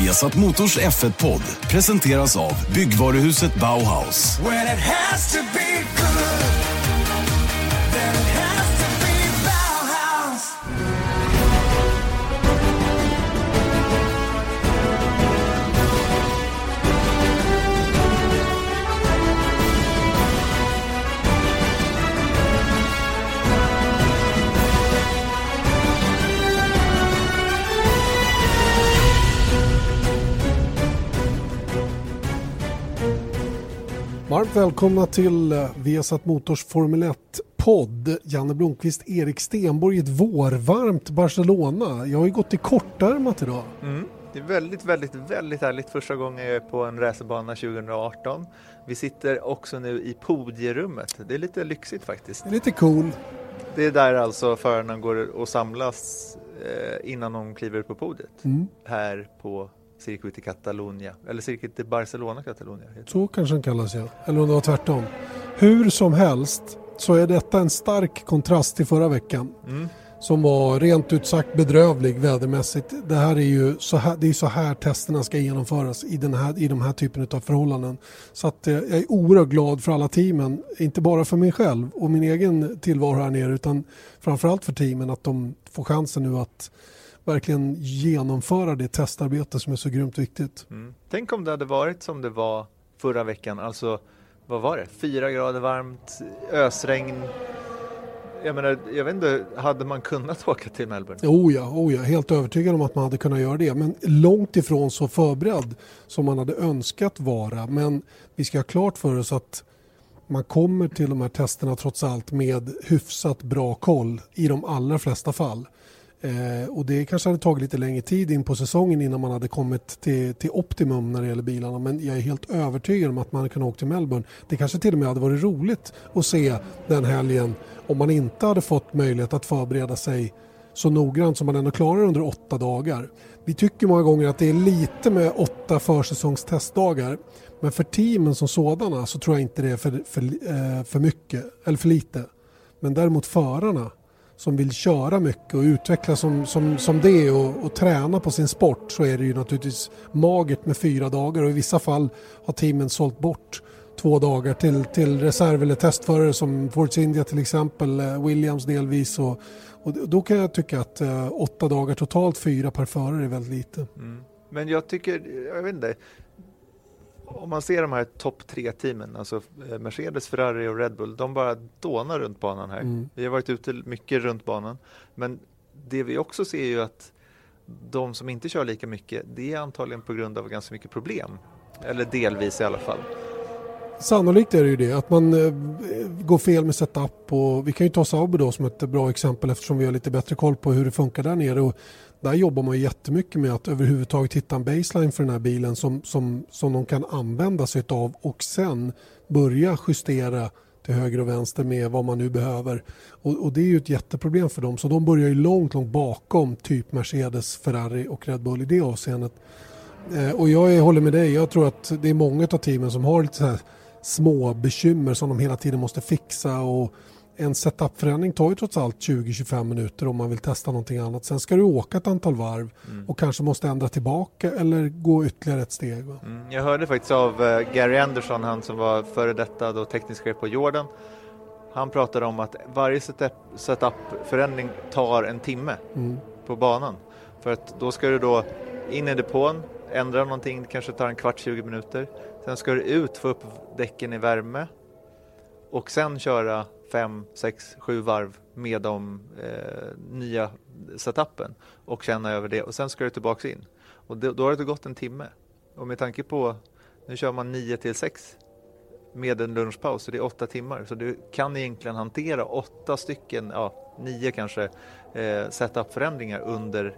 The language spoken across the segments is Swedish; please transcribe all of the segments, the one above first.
Viasat Motors F1-podd presenteras av byggvaruhuset Bauhaus. When it has to be good, then it has to be Bauhaus. Varmt välkomna till Viasat Motors Formel 1-podd. Janne Blomqvist, Erik Stenborg i ett vårvarmt Barcelona. Jag har ju gått i kortärmat idag. Det är väldigt härligt. Första gången jag är på en racerbana 2018. Vi sitter också nu i podierummet. Det är lite lyxigt faktiskt. Det är lite cool. Det är där alltså förarna går och samlas innan de kliver på podiet. Här på Circuit i Catalunya. Eller Circuit i Barcelona Catalunya. Så kanske den kallas, ja. Eller om det var tvärtom. Hur som helst så är detta en stark kontrast till förra veckan. Som var rent ut sagt bedrövlig vädermässigt. Det här är ju så här testerna ska genomföras i de här typen av förhållanden. Så att jag är oerhört glad för alla teamen. Inte bara för mig själv och min egen tillvaro här nere, utan framförallt för teamen, att de får chansen nu att verkligen genomföra det testarbete som är så grymt viktigt. Tänk om det hade varit som det var förra veckan. Alltså, vad var det? 4 grader varmt, ösregn. Jag vet inte, hade man kunnat åka till Melbourne? Oh ja, helt övertygad om att man hade kunnat göra det. Men långt ifrån så förberedd som man hade önskat vara. Men vi ska ha klart för oss att man kommer till de här testerna trots allt med hyfsat bra koll i de allra flesta fall. Och det kanske hade tagit lite längre tid in på säsongen innan man hade kommit till optimum när det gäller bilarna, men jag är helt övertygad om att man kan åka till Melbourne. Det kanske till och med hade varit roligt att se den helgen om man inte hade fått möjlighet att förbereda sig så noggrant som man ändå klarar under 8 dagar. Vi tycker många gånger att det är lite med 8 försäsongstestdagar, men för teamen som sådana så tror jag inte det är för mycket eller för lite. Men däremot förarna som vill köra mycket och utveckla som det och träna på sin sport, så är det ju naturligtvis magert med 4 dagar, och i vissa fall har teamen sålt bort 2 dagar till reserv- eller testförare som Force India till exempel, Williams delvis, och då kan jag tycka att 8 dagar totalt, 4 per förare är väldigt lite. Men jag vet inte, om man ser de här topp 3-teamen, alltså Mercedes, Ferrari och Red Bull, de bara dånar runt banan här. Vi har varit ute mycket runt banan, men det vi också ser är ju att de som inte kör lika mycket, det är antagligen på grund av ganska mycket problem, eller delvis i alla fall. Sannolikt är det ju det, att man går fel med setup, och vi kan ju ta Sauber då som ett bra exempel eftersom vi har lite bättre koll på hur det funkar där nere, och där jobbar man jättemycket med att överhuvudtaget hitta en baseline för den här bilen som de kan använda sig av, och sen börja justera till höger och vänster med vad man nu behöver. Och det är ju ett jätteproblem för dem, så de börjar ju långt bakom typ Mercedes, Ferrari och Red Bull i det avseendet. Och jag håller med dig, jag tror att det är många av teamen som har lite så här små bekymmer som de hela tiden måste fixa, och en setupförändring tar ju trots allt 20-25 minuter om man vill testa någonting annat. Sen ska du åka ett antal varv och kanske måste ändra tillbaka eller gå ytterligare ett steg. Jag hörde faktiskt av Gary Anderson, han som var före detta då teknisk chef på Jordan. Han pratade om att varje setupförändring tar en timme på banan. För att då ska du då in i depån, ändra någonting, kanske tar en kvart, 20 minuter. Sen ska du ut, få upp däcken i värme och sen köra 5, 6, 7 varv med de nya setupen och känna över det, och sen ska du tillbaka in. Och då har det gått en timme. Och med tanke på, nu kör man 9-6 med en lunchpaus, så det är 8 timmar. Så du kan egentligen hantera 8 stycken, 9 kanske, setup-förändringar under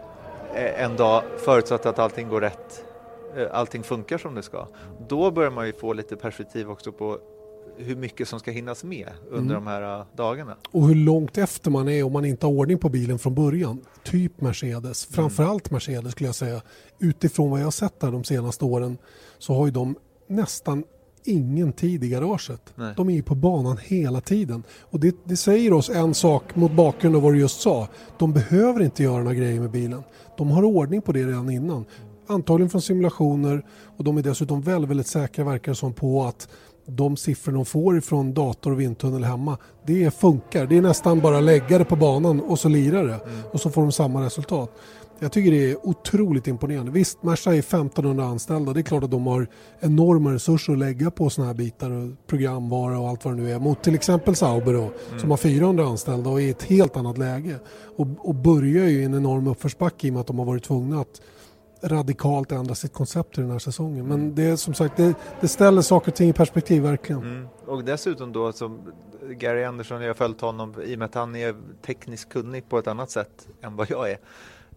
en dag, förutsatt att allting går rätt, allting funkar som det ska. Då börjar man ju få lite perspektiv också på hur mycket som ska hinnas med under de här dagarna. Och hur långt efter man är om man inte har ordning på bilen från början. Typ Mercedes, framförallt Mercedes skulle jag säga. Utifrån vad jag har sett där de senaste åren så har ju de nästan ingen tid i garaget. Nej. De är ju på banan hela tiden. Och det säger oss en sak mot bakgrund av vad du just sa. De behöver inte göra några grejer med bilen. De har ordning på det redan innan. antagligen från simulationer, och de är dessutom väldigt, väldigt säkra, verkar som, på att de siffror de får från dator och vindtunnel hemma, det funkar. Det är nästan bara lägga det på banan och så lirar det. Och så får de samma resultat. Jag tycker det är otroligt imponerande. Visst, Merca är 1500 anställda. Det är klart att de har enorma resurser att lägga på såna här bitar och programvara och allt vad det nu är. Mot till exempel Sauber då, som har 400 anställda och är i ett helt annat läge. Och börjar ju i en enorm uppförsbacke i och med att de har varit tvungna att radikalt ändra sitt koncept i den här säsongen. Men det är som sagt, det ställer saker och ting i perspektiv verkligen. Och dessutom då, som Gary Anderson, jag har följt honom i och med att han är tekniskt kunnig på ett annat sätt än vad jag är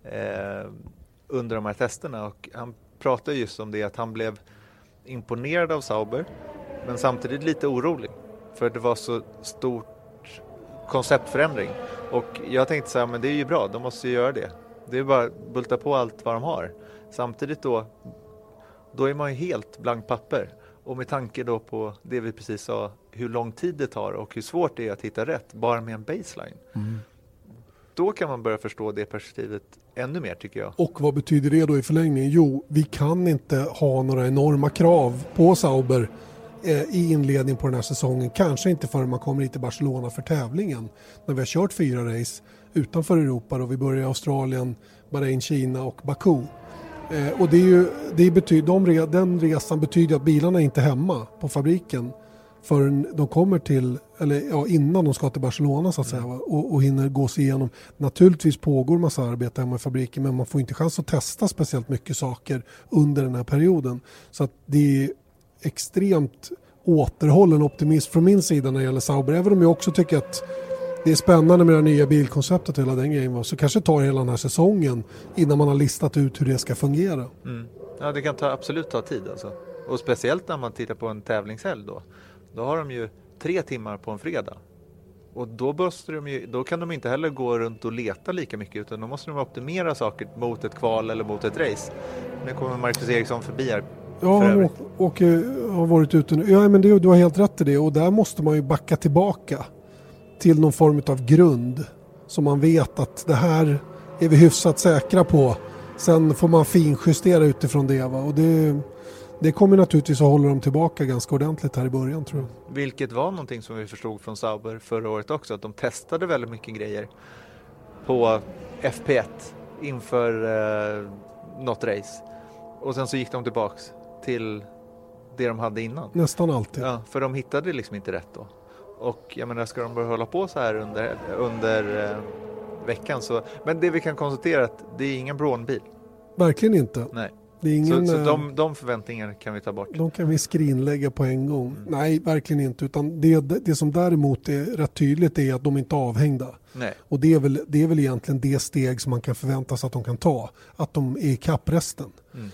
under de här testerna, och han pratade just om det, att han blev imponerad av Sauber men samtidigt lite orolig för det var så stort konceptförändring, och jag tänkte så här, men det är ju bra, de måste ju göra det. Det är bara att bulta på allt vad de har. Samtidigt då är man ju helt blank papper. Och med tanke då på det vi precis sa, hur lång tid det tar och hur svårt det är att hitta rätt bara med en baseline. Då kan man börja förstå det perspektivet ännu mer, tycker jag. Och vad betyder det då i förlängningen? Jo, vi kan inte ha några enorma krav på Sauber i inledning på den här säsongen. Kanske inte förrän man kommer hit till Barcelona för tävlingen. När vi har kört 4 race utanför Europa och vi börjar i Australien, Bahrain, Kina och Baku. Och den resan betyder att bilarna är inte hemma på fabriken förrän de kommer till, innan de ska till Barcelona så att säga, och hinner gå sig igenom. Naturligtvis pågår massa arbete hemma i fabriken, men man får inte chans att testa speciellt mycket saker under den här perioden. Så att det är extremt återhållen optimism från min sida när det gäller Sauber, även om jag också tycker att det är spännande med det nya bilkonceptet och hela den grejen. Så kanske tar hela den här säsongen innan man har listat ut hur det ska fungera. Ja, det kan absolut ta tid alltså. Och speciellt när man tittar på en tävlingshelg då har de ju 3 timmar på en fredag. Och då kan de inte heller gå runt och leta lika mycket, utan då måste de optimera saker mot ett kval eller mot ett race. Nu kommer Marcus Eriksson förbi här. Ja, han har varit ute nu. Ja, men du har helt rätt i det, och där måste man ju backa tillbaka till någon form av grund som man vet att det här är vi hyfsat säkra på. Sen får man finjustera utifrån det. Va? Och det kommer naturligtvis att hålla dem tillbaka ganska ordentligt här i början, tror jag. Vilket var någonting som vi förstod från Sauber förra året också, att de testade väldigt mycket grejer på FP1 inför något race. Och sen så gick de tillbaks till det de hade innan. Nästan alltid. Ja, för de hittade liksom inte rätt då. Och jag menar, ska de börja hålla på så här under veckan så... Men det vi kan konstatera är att det är ingen Braun-bil. Verkligen inte. Nej. Det är ingen, så de förväntningarna kan vi ta bort. De kan vi skrinlägga på en gång. Nej, verkligen inte. Utan det som däremot är rätt tydligt är att de inte är avhängda. Nej. Och det är väl egentligen det steg som man kan förvänta sig att de kan ta. Att de är i kappresten.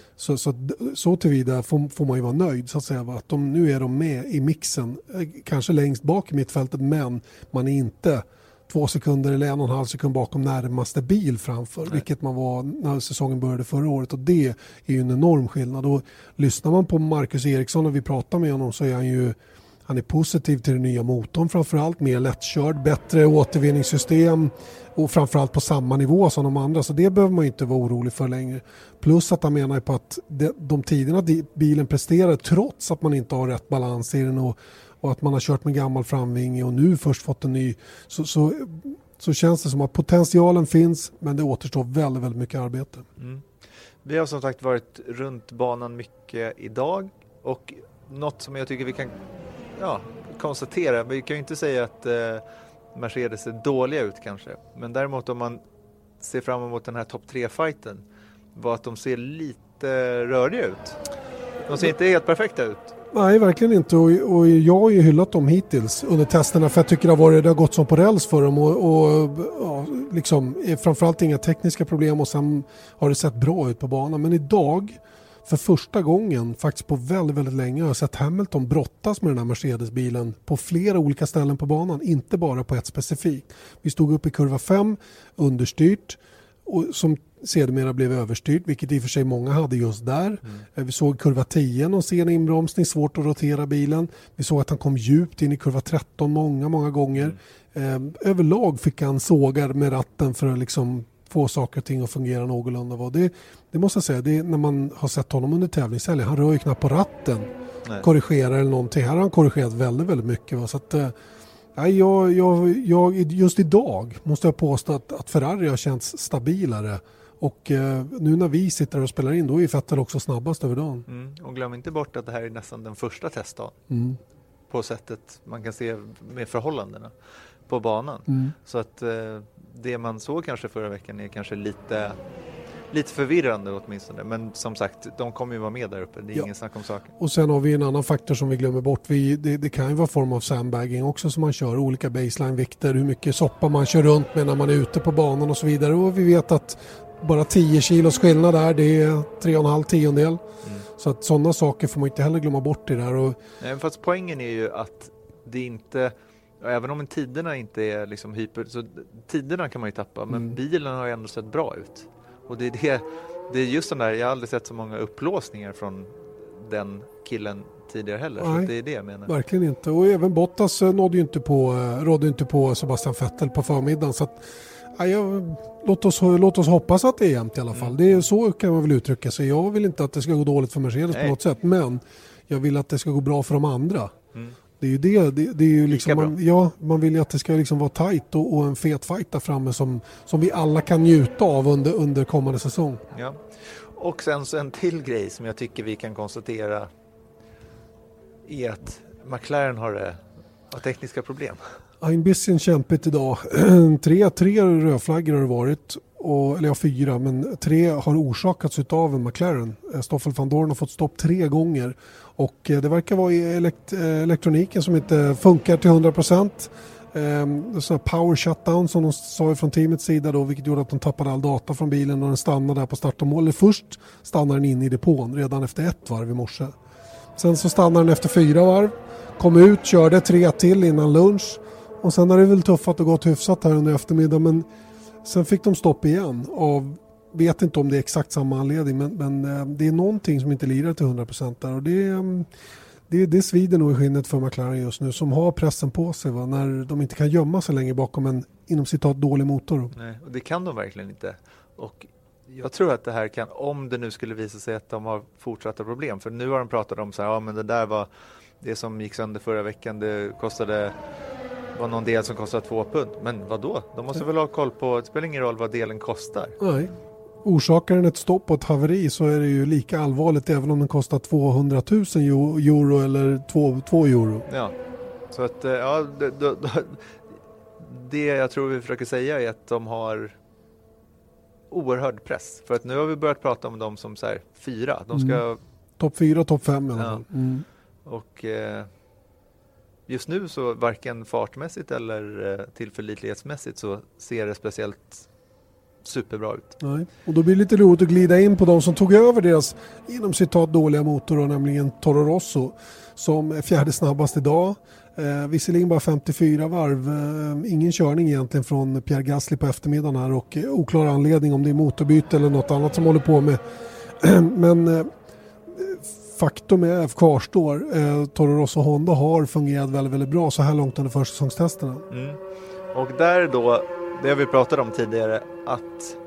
Så tillvida får man ju vara nöjd så att säga. Att nu är de med i mixen. Kanske längst bak i mittfältet, men man är inte 2 sekunder eller 1,5 sekund bakom närmaste bil framför. Nej. Vilket man var när säsongen började förra året. Och det är ju en enorm skillnad. Och lyssnar man på Marcus Eriksson när vi pratar med honom så är han är positiv till den nya motorn framförallt. Mer lättkörd, bättre återvinningssystem och framförallt på samma nivå som de andra. Så det behöver man inte vara orolig för längre. Plus att han menar på att de tiderna bilen presterar trots att man inte har rätt balans i den och att man har kört med gammal framvinge och nu först fått en ny, så känns det som att potentialen finns, men det återstår väldigt, väldigt mycket arbete. Vi har som sagt varit runt banan mycket idag, och något som jag tycker vi kan konstatera, vi kan ju inte säga att Mercedes ser dåliga ut kanske, men däremot om man ser fram emot den här topp 3-fighten var att de ser lite röriga ut. De ser inte helt perfekta ut. Nej, verkligen inte. Och jag har ju hyllat dem hittills under testerna, för jag tycker det har gått som på räls för dem och liksom, framförallt inga tekniska problem, och sen har det sett bra ut på banan. Men idag, för första gången faktiskt på väldigt, väldigt länge, har jag sett Hamilton brottas med den här Mercedes-bilen på flera olika ställen på banan, inte bara på ett specifikt. Vi stod upp i kurva 5, understyrt, och som sedermera blev överstyrt, vilket i och för sig många hade just där. Vi såg kurva 10, någon sen inbromsning, svårt att rotera bilen. Vi såg att han kom djupt in i kurva 13 många gånger. Överlag fick han sågar med ratten för att liksom få saker och ting att fungera någorlunda. Det måste jag säga, det är, när man har sett honom under tävlingshelgen, han rör ju knappt på ratten, korrigerar eller någonting. Här har han korrigerat väldigt, väldigt mycket. Va? Så att, jag just idag måste jag påstå att Ferrari har känts stabilare. Och nu när vi sitter och spelar in, då är Vettel också snabbast över dagen. Och glöm inte bort att det här är nästan den första testdagen. På sättet man kan se med förhållandena på banan. Så att det man såg kanske förra veckan är kanske lite förvirrande åtminstone. Men som sagt, de kommer ju vara med där uppe. Det är ingen snack om saken. Och sen har vi en annan faktor som vi glömmer bort. Det kan ju vara form av sandbagging också som man kör. Olika baseline-vikter, hur mycket soppa man kör runt med när man är ute på banan och så vidare. Och vi vet att bara 10 kilos skillnad där, det är 3,5 tiondel. Så att sådana saker får man inte heller glömma bort i det där. Nej, fast poängen är ju att det inte, även om tiderna inte är liksom hyper, så tiderna kan man ju tappa, men bilen har ju ändå sett bra ut. Och det är just den där, jag har aldrig sett så många upplåsningar från den killen tidigare heller. Nej, så det är det jag menar. Verkligen inte. Och även Bottas rådde inte på Sebastian Vettel på förmiddagen. Så att, låt oss hoppas att det är jämnt i alla fall. Det är så kan man väl uttrycka sig. Jag vill inte att det ska gå dåligt för Mercedes på något sätt, men jag vill att det ska gå bra för de andra. Det är ju det är ju liksom man vill ju att det ska liksom vara tajt och en fet fight där framme som vi alla kan njuta av under kommande säsong. Ja. Och sen så en till grej som jag tycker vi kan konstatera är att McLaren har tekniska problem. En bisschen kämpigt idag. tre rödflaggor har det varit. Eller 4, men 3 har orsakats av en McLaren. Stoffel van Dorn har fått stopp 3 gånger. Och det verkar vara elektroniken som inte funkar till 100%. Så power shutdown som de sa från teamets sida då, vilket gjorde att de tappade all data från bilen och den stannade där på start och mål. Först stannade den in i depån redan efter 1 varv i morse. Sen så stannade den efter 4 varv. Kom ut, körde 3 till innan lunch. Och sen har det väl tuffat och gått hyfsat här under eftermiddag, men sen fick de stopp igen av, vet inte om det är exakt samma anledning, men det är någonting som inte lirar till 100% där, och det svider nog i skinnet för McLaren just nu, som har pressen på sig när de inte kan gömma sig längre bakom en inom citat dålig motor. Nej, och det kan de verkligen inte. Och jag tror att det här kan, om det nu skulle visa sig att de har fortsatta problem, för nu har de pratat om så här, men det där var det som gick sönder förra veckan, det var någon del som kostade 2 pund. Men vad då? De måste väl ha koll på, det spelar ingen roll vad delen kostar. Nej. Orsakar den ett stopp och ett haveri så är det ju lika allvarligt även om den kostar 200 000 euro eller 2 euro. Ja, så att det jag tror vi försöker säga är att de har oerhörd press. För att nu har vi börjat prata om dem som så här 4. De ska... Topp 4, topp 5 i alla fall. Och just nu så varken fartmässigt eller tillförlitlighetsmässigt så ser det speciellt superbra ut. Nej. Och då blir det lite roligt att glida in på de som tog över deras inom citat dåliga motor, nämligen Toro Rosso som är 4:e snabbast idag. Visserligen bara 54 varv, ingen körning egentligen från Pierre Gasly på eftermiddagen här, och oklar anledning om det är motorbyte eller något annat som håller på med. Men faktum är kvarstår, Toro Rosso och Honda har fungerat väldigt, väldigt bra så här långt under försäsongstesterna. Och där då, det har vi pratat om tidigare, att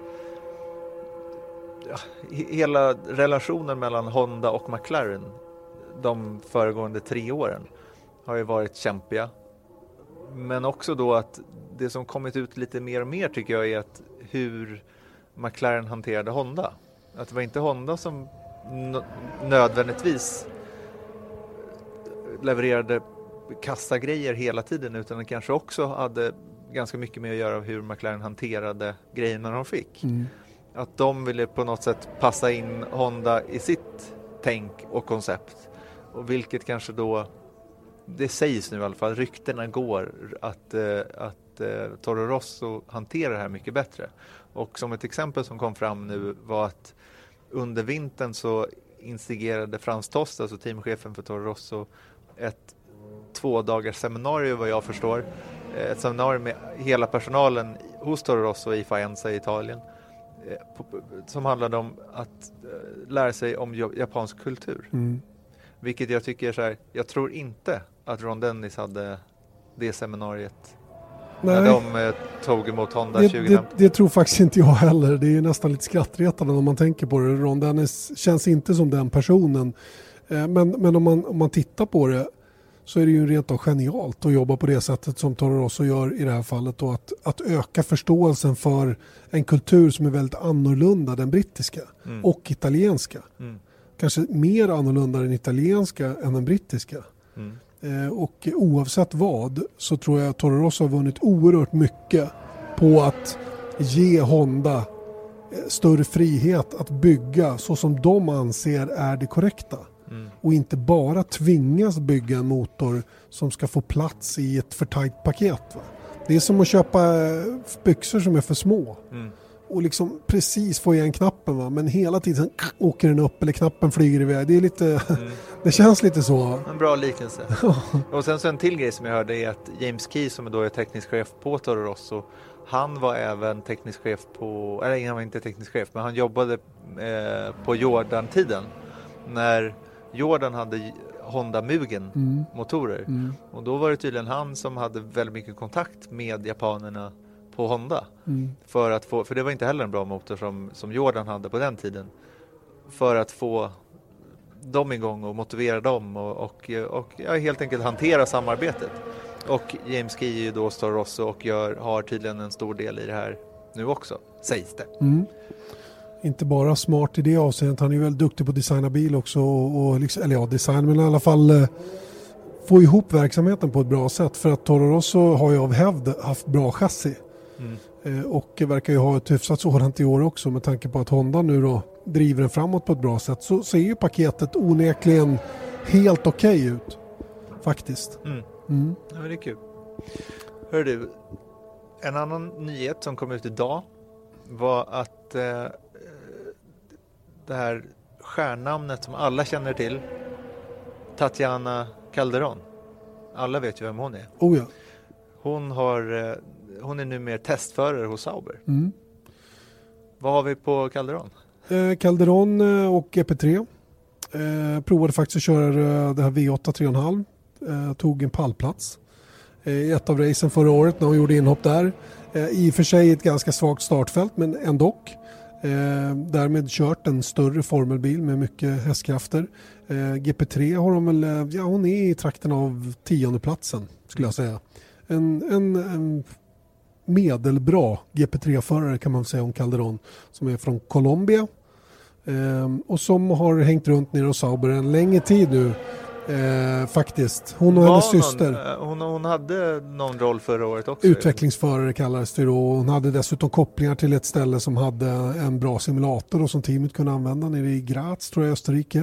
hela relationen mellan Honda och McLaren de föregående 3 åren har ju varit kämpiga. Men också då att det som kommit ut lite mer och mer tycker jag är att hur McLaren hanterade Honda. Att det var inte Honda som nödvändigtvis levererade kassagrejer hela tiden, utan det kanske också hade ganska mycket med att göra hur McLaren hanterade grejerna de fick. Att de ville på något sätt passa in Honda i sitt tänk och koncept, och vilket kanske då, det sägs nu i alla fall, ryktena går att Toro Rosso hanterar det här mycket bättre. Och som ett exempel som kom fram nu var att under vintern så instigerade Frans Tost, alltså teamchefen för Toro Rosso, ett 2-dagars seminarium vad jag förstår. Ett seminarium med hela personalen hos Toro Rosso i Faenza i Italien, som handlade om att lära sig om japansk kultur. Vilket jag tycker är så här, jag tror inte att Ron Dennis hade det seminariet Nej. när de tog emot Honda 2015. Det tror faktiskt inte jag heller. Det är nästan lite skrattretande om man tänker på det. Ron Dennis känns inte som den personen. Men om man tittar på det så är det ju rent av genialt att jobba på det sättet som Toro Rosso gör i det här fallet. Och att öka förståelsen för en kultur som är väldigt annorlunda den brittiska och italienska. Kanske mer annorlunda den italienska än den brittiska. Och oavsett vad så tror jag att Toro Rosso har vunnit oerhört mycket på att ge Honda större frihet att bygga så som de anser är det korrekta. Och inte bara tvingas bygga en motor som ska få plats i ett för tajt paket. Va? Det är som att köpa byxor som är för små. Och liksom precis få igen knappen, va? Men hela tiden åker den upp eller knappen flyger iväg. Det är lite, det känns lite så. En bra liknelse. Och sen så en till grej som jag hörde är att James Key, som då är teknisk chef på Toro Rosso, han var även teknisk chef på, eller han var inte teknisk chef, men han jobbade på Jordan-tiden när Jordan hade Honda Mugen motorer. Och då var det tydligen han som hade väldigt mycket kontakt med japanerna på Honda. För att få, för det var inte heller en bra motor som Jordan hade på den tiden. För att få dem igång och motivera dem och helt enkelt hantera samarbetet. Och James Key är ju då Toro Rosso och har tydligen en stor del i det här nu också, sägs det. Inte bara smart i det avseendet, han är ju väldigt duktig på att designa bil också och liksom, eller ja, design, men i alla fall få ihop verksamheten på ett bra sätt, för att Toro Rosso har ju av hävd haft bra chassi och verkar ju ha ett hyfsat sådant i år också, med tanke på att Honda nu då driver den framåt på ett bra sätt, så ser ju paketet onekligen helt okej ut faktiskt. Ja, men det är kul. Hör du, en annan nyhet som kom ut idag var att det här stjärnnamnet som alla känner till, Tatiana Calderon, alla vet ju vem hon är. Oh ja. Hon är nu mer testförare hos Sauber. Vad har vi på Calderon? Calderon och GP3 provade faktiskt att köra det här V8 3,5, tog en pallplats i ett av racen förra året när hon gjorde inhopp där. I och för sig ett ganska svagt startfält, men ändå. Därmed kört en större formelbil med mycket hästkrafter. GP3 har de väl, ja, hon är i trakten av 10:e platsen skulle jag säga. En medelbra GP3-förare kan man säga om Calderon, som är från Colombia och som har hängt runt nere hos Sauber en längre tid nu. Faktiskt. Hon och hennes syster. Hon hade någon roll förra året också. Utvecklingsförare kallades det då. Hon hade dessutom kopplingar till ett ställe som hade en bra simulator och som teamet kunde använda nere i Graz, tror jag, i Österrike.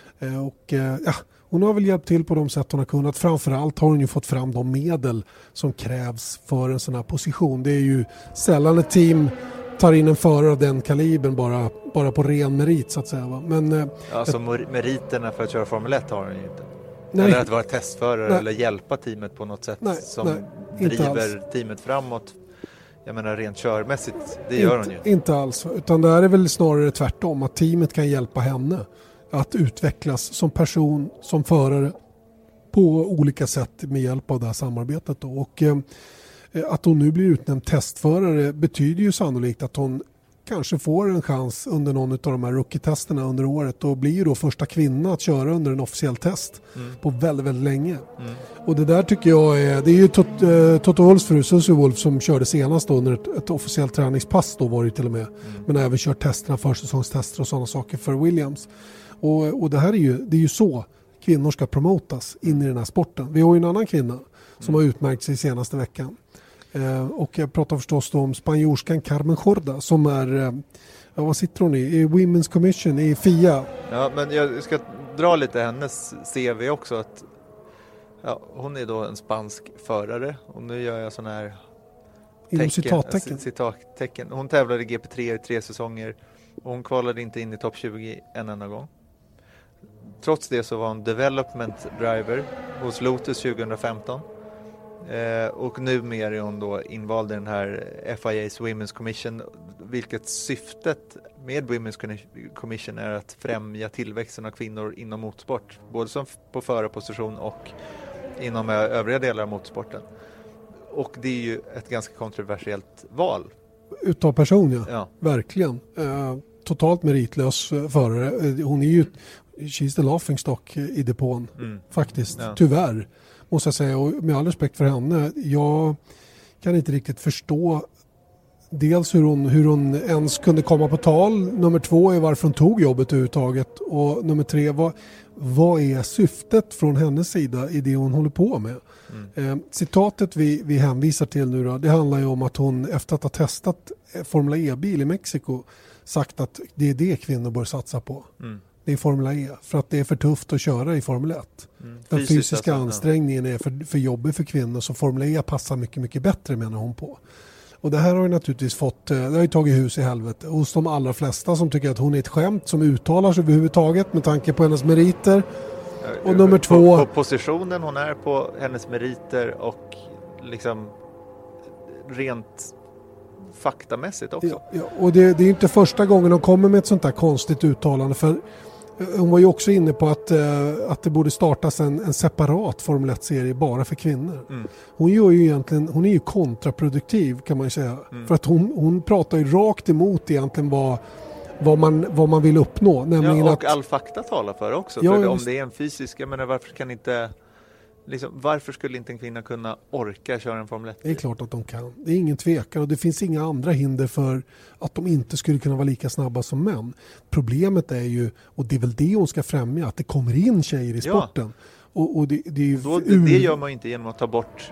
Hon har väl hjälpt till på de sätt hon har kunnat. Framförallt har hon ju fått fram de medel som krävs för en sån här position. Det är ju sällan ett team tar in en förare av den kalibern bara på ren merit så att säga. Va? Men, alltså meriterna för att köra Formel 1 har hon ju inte. Nej. Eller att vara testförare eller hjälpa teamet på något sätt som driver teamet framåt. Jag menar rent körmässigt, det gör hon ju. Inte alls, utan det är väl snarare tvärtom, att teamet kan hjälpa henne att utvecklas som person, som förare på olika sätt med hjälp av det här samarbetet då. Och att hon nu blir utnämnd testförare betyder ju sannolikt att hon kanske får en chans under någon av de här rookie-testerna under året och blir ju då första kvinna att köra under en officiell test på väldigt, väldigt länge. Och det där tycker jag det är ju Toto Wolffs fru Susie Wolff som körde senast då under ett officiellt träningspass då var det till och med. Men även kört testerna, försäsongstester och sådana saker för Williams. Och det här det är ju så kvinnor ska promotas in i den här sporten. Vi har ju en annan kvinna som har utmärkt sig senaste veckan. Och jag pratar förstås då om spanjorskan Carmen Jorda som är, vad sitter hon i Women's Commission i FIA. Ja, men jag ska dra lite hennes CV också. Att, hon är då en spansk förare och nu gör jag sån här citattecken. Hon tävlade i GP3 i 3 säsonger och hon kvalade inte in i topp 20 en enda gång. Trots det så var hon development driver hos Lotus 2015. Och numera är hon då invald i den här FIA's Women's Commission, vilket syftet med Women's Commission är att främja tillväxten av kvinnor inom motorsport, både som på förarposition och inom övriga delar av motorsporten. Och det är ju ett ganska kontroversiellt val. Utav person, Ja. verkligen. Totalt meritlös förare. Hon är ju she's the laughing stock i depån, faktiskt. Ja. Tyvärr, måste jag säga. Och med all respekt för henne, jag kan inte riktigt förstå dels hur hon ens kunde komma på tal. Nummer 2 är varför hon tog jobbet överhuvudtaget. Och nummer 3, vad är syftet från hennes sida i det hon håller på med? Citatet vi hänvisar till nu då, det handlar ju om att hon efter att ha testat Formula E-bil i Mexiko sagt att det är det kvinnor bör satsa på. Det är Formula E, för att det är för tufft att köra i Formel 1. Den fysiska ansträngningen är för jobbig för kvinnor, så Formula E passar mycket, mycket bättre, menar hon på. Och det här har ju naturligtvis det har ju tagit hus i helvete hos de allra flesta som tycker att hon är ett skämt som uttalar sig överhuvudtaget med tanke på hennes meriter. Och nummer 2... På positionen hon är på, hennes meriter och liksom rent faktamässigt också. Ja, och det är inte första gången hon kommer med ett sånt här konstigt uttalande, för hon var ju också inne på att det borde startas en separat Formel 1-serie bara för kvinnor. Hon gör ju egentligen, hon är ju kontraproduktiv, kan man ju säga. För att hon pratar ju rakt emot egentligen vad man vill uppnå. Nämligen och all fakta talar för också. Ja, för om det är en fysisk, jag menar, varför skulle inte en kvinna kunna orka köra en Formel 1? Det är klart att de kan. Det är ingen tvekan, och det finns inga andra hinder för att de inte skulle kunna vara lika snabba som män. Problemet är ju, och det är väl det hon ska främja, att det kommer in tjejer i sporten. Och det är ju det gör man ju inte genom att ta bort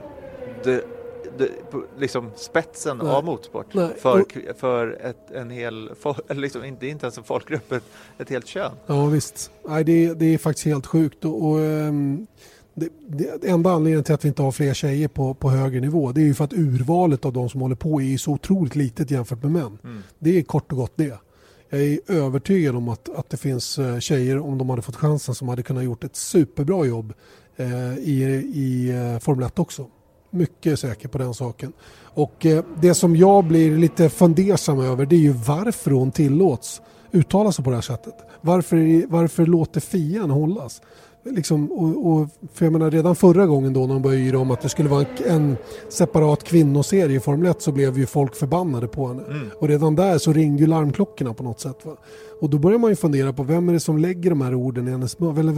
liksom spetsen av motorsport. För en hel, liksom, inte ens en folkgrupp, ett helt kön. Ja visst. Nej, det är faktiskt helt sjukt. Och det enda anledningen till att vi inte har fler tjejer på högre nivå, det är ju för att urvalet av de som håller på är så otroligt litet jämfört med män. Det är kort och gott det. Jag är övertygad om att det finns tjejer, om de hade fått chansen, som hade kunnat gjort ett superbra jobb i Formel 1 också. Mycket säker på den saken. Och det som jag blir lite fundersam över, det är ju varför hon tillåts uttala sig på det här sättet. Varför låter FIA hållas? Liksom, för jag menar, redan förra gången då när de började yra om att det skulle vara en separat kvinnoserie i Formel 1, så blev ju folk förbannade på henne. Och redan där så ringde ju larmklockorna på något sätt. Va? Och då börjar man ju fundera på vem är det som lägger de här orden i hennes mun? Eller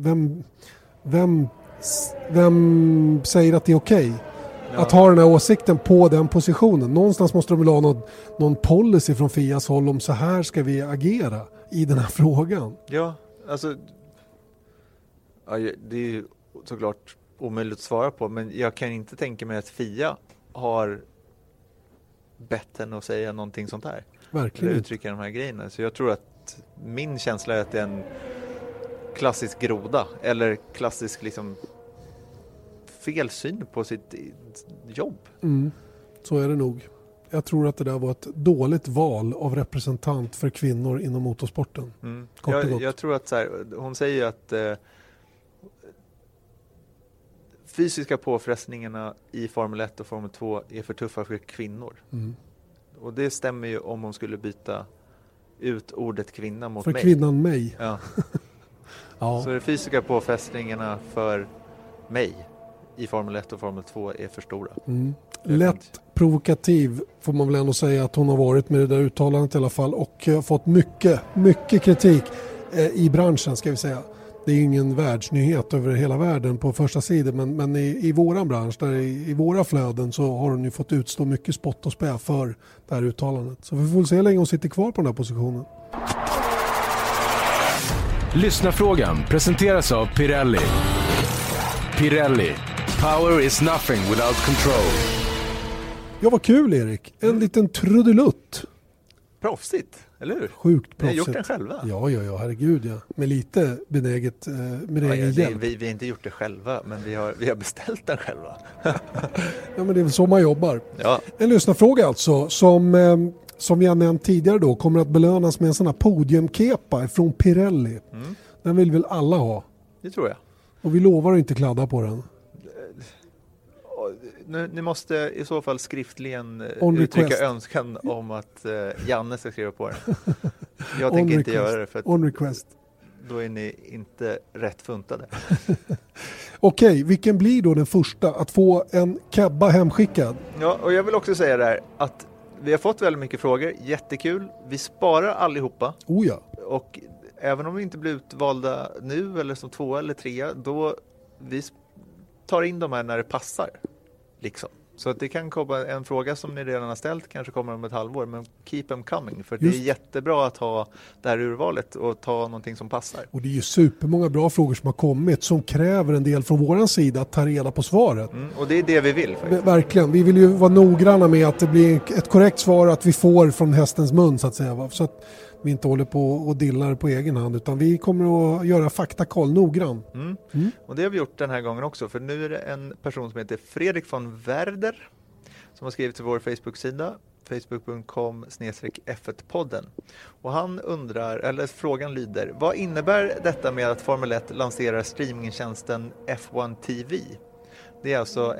vem säger att det är okej? Att ha den här åsikten på den positionen. Någonstans måste de väl ha någon policy från FIAs håll om så här ska vi agera i den här frågan. Ja, alltså det är ju såklart omöjligt att svara på, men jag kan inte tänka mig att FIA har bett henne att säga någonting sånt här. Verkligen. Eller uttrycka de här grejerna. Så jag tror att min känsla är att det är en klassisk groda, eller klassisk liksom felsyn på sitt jobb. Så är det nog. Jag tror att det där var ett dåligt val av representant för kvinnor inom motorsporten. Jag tror att så här, hon säger att fysiska påfrestningarna i Formel 1 och Formel 2 är för tuffa för kvinnor. Och det stämmer ju om hon skulle byta ut ordet kvinna mot för mig. För kvinnan mig. Ja. Ja. Så de fysiska påfrestningarna för mig i Formel 1 och Formel 2 är för stora. Lätt provokativ får man väl ändå säga att hon har varit med det där uttalandet i alla fall, och fått mycket kritik i branschen, ska vi säga. Det är ju ingen världsnyhet över hela världen på första sidan, men i våran bransch, där i våra flöden, så har hon ju fått utstå mycket spott och spä för det här uttalandet. Så vi får se hur länge hon sitter kvar på den här positionen. Lyssnarfrågan presenteras av Pirelli. Pirelli. Power is nothing without control. Ja, vad kul, Erik. En liten trudelutt. Proffsigt, eller hur? Sjukt proffsigt. Ni har gjort den själva? Ja, herregud ja. Med lite benäget hjälp. Vi har inte gjort det själva, men vi har beställt den själva. Ja, men det är väl så man jobbar. Ja. En lyssnarfråga alltså, som vi har nämnt tidigare då, kommer att belönas med en sån här podiumkepa från Pirelli. Den vill väl alla ha? Det tror jag. Och vi lovar att inte kladda på den. Ni måste i så fall skriftligen request. uttrycka önskan om att Janne ska skriva på den. Jag tänker inte göra det. För on request. då är ni inte rätt funtade. Okej, vilken blir då den första att få en kebba hemskickad? Ja, och jag vill också säga där att vi har fått väldigt mycket frågor, jättekul. Vi sparar allihopa. Oh ja. Och även om vi inte blir utvalda nu eller som 2 eller 3, då vi tar in de här när det passar. Liksom. Så att det kan komma en fråga som ni redan har ställt, kanske kommer om ett halvår, men keep them coming. För det är jättebra att ha det här urvalet och ta någonting som passar. Och det är ju supermånga bra frågor som har kommit som kräver en del från våran sida att ta reda på svaret. Och det är det vi vill faktiskt. Verkligen, vi vill ju vara noggranna med att det blir ett korrekt svar att vi får från hästens mun så att säga. Va? Så att vi inte håller på och dillar på egen hand, utan vi kommer att göra faktakoll noggrann. Och det har vi gjort den här gången också, för nu är det en person som heter Fredrik von Werder som har skrivit till vår Facebook-sida facebook.com/F1podden. Och han undrar, eller frågan lyder: vad innebär detta med att Formel 1 lanserar streamingtjänsten F1 TV? Det är alltså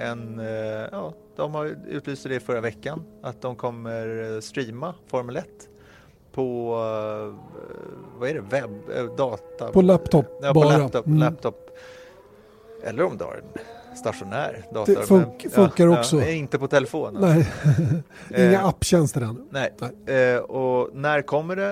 de har utlyst det förra veckan att de kommer streama Formel 1 på vad är det, data? På laptop. Ja, på laptop. Eller om du har en stationär dator. Det funkar också. Inte på telefonen. Nej, inga apptjänster än. Nej. Och när kommer det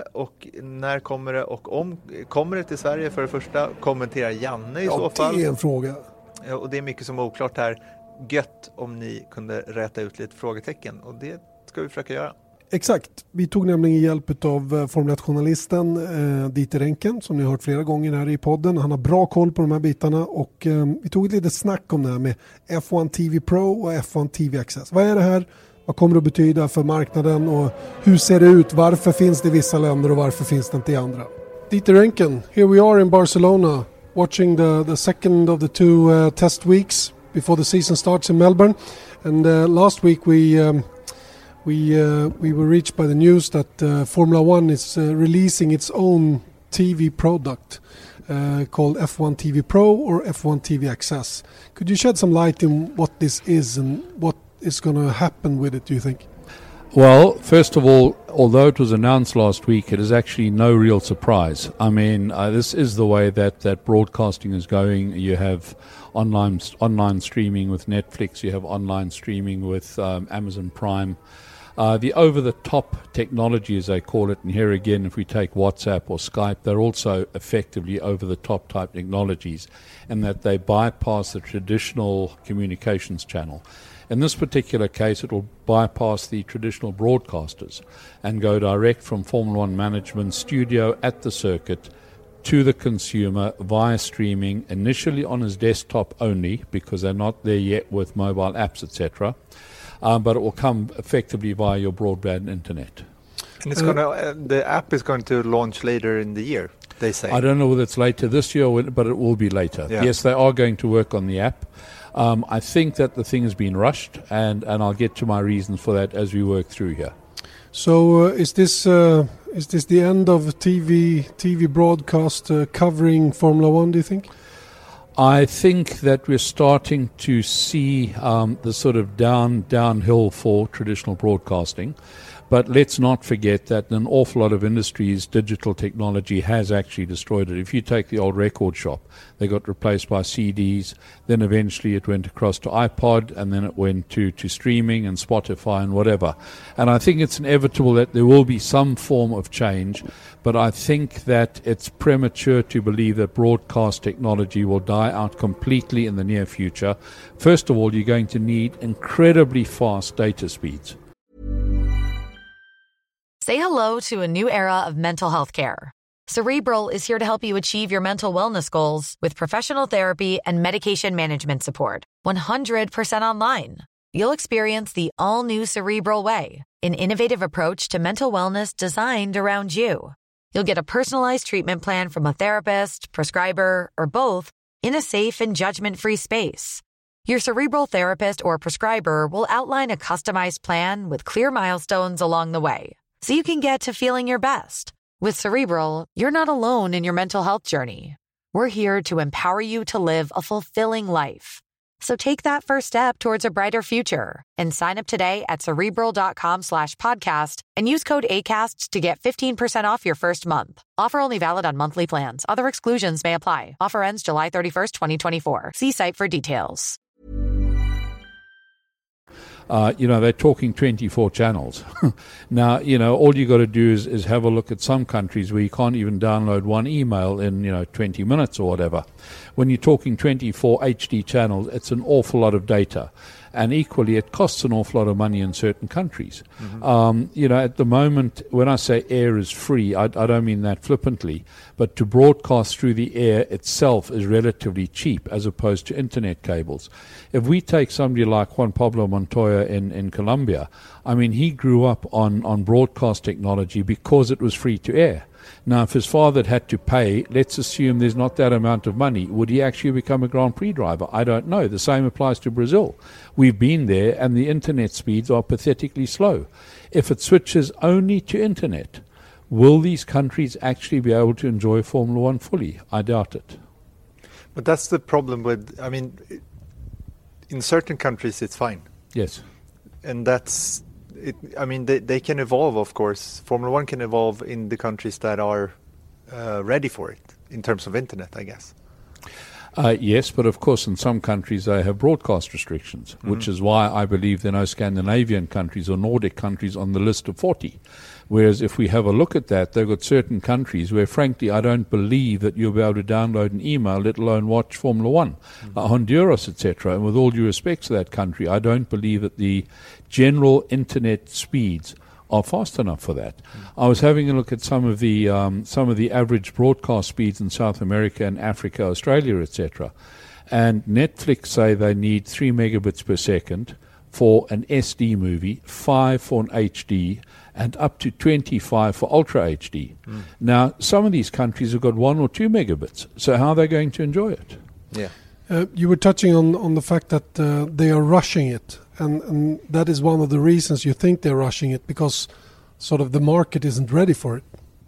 och om kommer det till Sverige för det första? Kommenterar Janne i så fall. Det är en fråga. Och det är mycket som är oklart här. Gött om ni kunde räta ut lite frågetecken, och det ska vi försöka göra. Exakt. Vi tog nämligen hjälp av Formel 1-journalisten Dieter Renken, som ni har hört flera gånger här i podden. Han har bra koll på de här bitarna, och vi tog ett litet snack om det här med F1 TV Pro och F1 TV Access. Vad är det här? Vad kommer det att betyda för marknaden och hur ser det ut? Varför finns det i vissa länder och varför finns det inte i andra? Dieter Renken, here we are in Barcelona watching the second of the two test weeks before the season starts in Melbourne. And last week we were reached by the news that Formula One is releasing its own TV product called F1 TV Pro or F1 TV Access. Could you shed some light in what this is and what is going to happen with it, do you think? Well, first of all, although it was announced last week, it is actually no real surprise. I mean, this is the way that broadcasting is going. You have online streaming with Netflix. You have online streaming with Amazon Prime. The over-the-top technology, as they call it, and here again, if we take WhatsApp or Skype, they're also effectively over-the-top type technologies, and that they bypass the traditional communications channel. In this particular case, it will bypass the traditional broadcasters and go direct from Formula One management studio at the circuit to the consumer via streaming, initially on his desktop only, because they're not there yet with mobile apps, etc. But it will come effectively via your broadband internet. And it's the app is going to launch later in the year, they say. I don't know whether it's later this year, but it will be later. Yeah. Yes, they are going to work on the app. I think that the thing has been rushed, and I'll get to my reasons for that as we work through here. So is this the end of TV broadcast covering Formula One, do you think? I think that we're starting to see the sort of downhill for traditional broadcasting. But let's not forget that in an awful lot of industries, digital technology has actually destroyed it. If you take the old record shop, they got replaced by CDs. Then eventually it went across to iPod, and then it went to streaming and Spotify and whatever. And I think it's inevitable that there will be some form of change. But I think that it's premature to believe that broadcast technology will die out completely in the near future. First of all, you're going to need incredibly fast data speeds. Say hello to a new era of mental health care. Cerebral is here to help you achieve your mental wellness goals with professional therapy and medication management support. 100% online. You'll experience the all-new Cerebral Way, an innovative approach to mental wellness designed around you. You'll get a personalized treatment plan from a therapist, prescriber, or both in a safe and judgment-free space. Your Cerebral therapist or prescriber will outline a customized plan with clear milestones along the way, so you can get to feeling your best. With Cerebral, you're not alone in your mental health journey. We're here to empower you to live a fulfilling life. So take that first step towards a brighter future and sign up today at Cerebral.com/podcast and use code ACAST to get 15% off your first month. Offer only valid on monthly plans. Other exclusions may apply. Offer ends July 31st, 2024. See site for details. They're talking 24 channels. Now, all you got to do is have a look at some countries where you can't even download one email in, 20 minutes or whatever. When you're talking 24 HD channels, it's an awful lot of data. And equally, it costs an awful lot of money in certain countries. At the moment, when I say air is free, I don't mean that flippantly, but to broadcast through the air itself is relatively cheap as opposed to internet cables. If we take somebody like Juan Pablo Montoya in Colombia, I mean, he grew up on broadcast technology because it was free to air. Now, if his father had to pay, let's assume there's not that amount of money, would he actually become a Grand Prix driver? I don't know. The same applies to Brazil. We've been there, and the internet speeds are pathetically slow. If it switches only to internet, will these countries actually be able to enjoy Formula One fully? I doubt it. But that's the problem with, in certain countries it's fine. Yes. And that's it. They can evolve, of course. Formula One can evolve in the countries that are ready for it in terms of internet, I guess. Yes, but of course in some countries they have broadcast restrictions, which is why I believe there are no Scandinavian countries or Nordic countries on the list of 40. Whereas if we have a look at that, they've got certain countries where, frankly, I don't believe that you'll be able to download an email, let alone watch Formula One, Honduras, etc. And with all due respect to that country, I don't believe that the general internet speeds are fast enough for that. I was having a look at some of the average broadcast speeds in South America and Africa, Australia, etc. And Netflix say they need 3 megabits per second for an SD movie, 5 for an HD, and up to 25 for Ultra HD. Now, some of these countries have got 1 or 2 megabits. So how are they going to enjoy it? Yeah. You were touching on the fact that they are rushing it. And that is one of the reasons you think they're rushing it, because sort of the market isn't ready for it.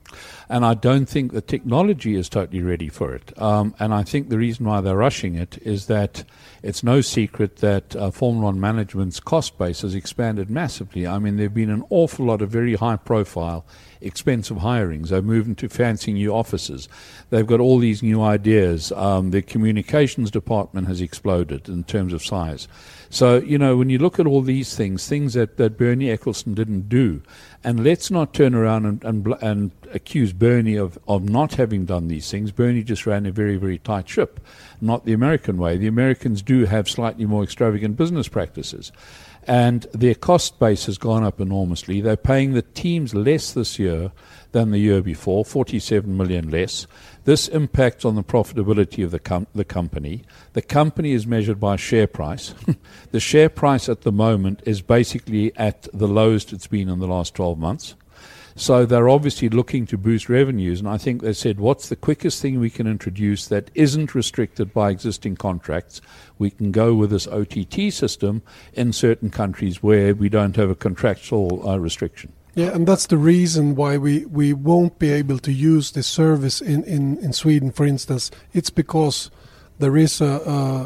And I don't think the technology is totally ready for it. And I think the reason why they're rushing it is that it's no secret that Formula One management's cost base has expanded massively. I mean, there have been an awful lot of very high-profile, expensive hirings. They've moved into fancy new offices. They've got all these new ideas. Their communications department has exploded in terms of size. So, when you look at all these things that Bernie Ecclestone didn't do, and let's not turn around and accuse Bernie of not having done these things. Bernie just ran a very, very tight ship, not the American way. The Americans do have slightly more extravagant business practices. And their cost base has gone up enormously. They're paying the teams less this year than the year before, 47 million less. This impacts on the profitability of the company. The company is measured by share price. The share price at the moment is basically at the lowest it's been in the last 12 months. So they're obviously looking to boost revenues, and I think they said, what's the quickest thing we can introduce that isn't restricted by existing contracts? We can go with this OTT system in certain countries where we don't have a contractual restriction. Yeah, and that's the reason why we won't be able to use this service in Sweden, for instance. It's because there is a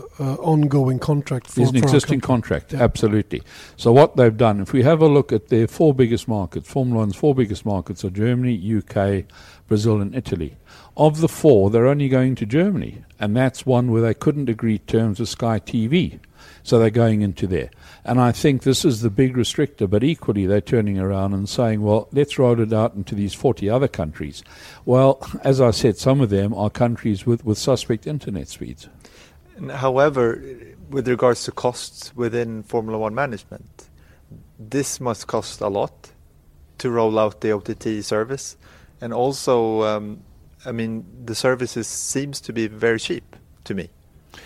ongoing contract for There's an existing contract, absolutely. So what they've done, if we have a look at their 4 biggest markets, Formula One's 4 biggest markets are Germany, UK, Brazil and Italy. Of the 4, they're only going to Germany, and that's one where they couldn't agree terms with Sky TV. So they're going into there. And I think this is the big restrictor, but equally they're turning around and saying, well, let's roll it out into these 40 other countries. Well, as I said, some of them are countries with suspect internet speeds. However, with regards to costs within Formula One management, this must cost a lot to roll out the OTT service. And also, the services seems to be very cheap to me.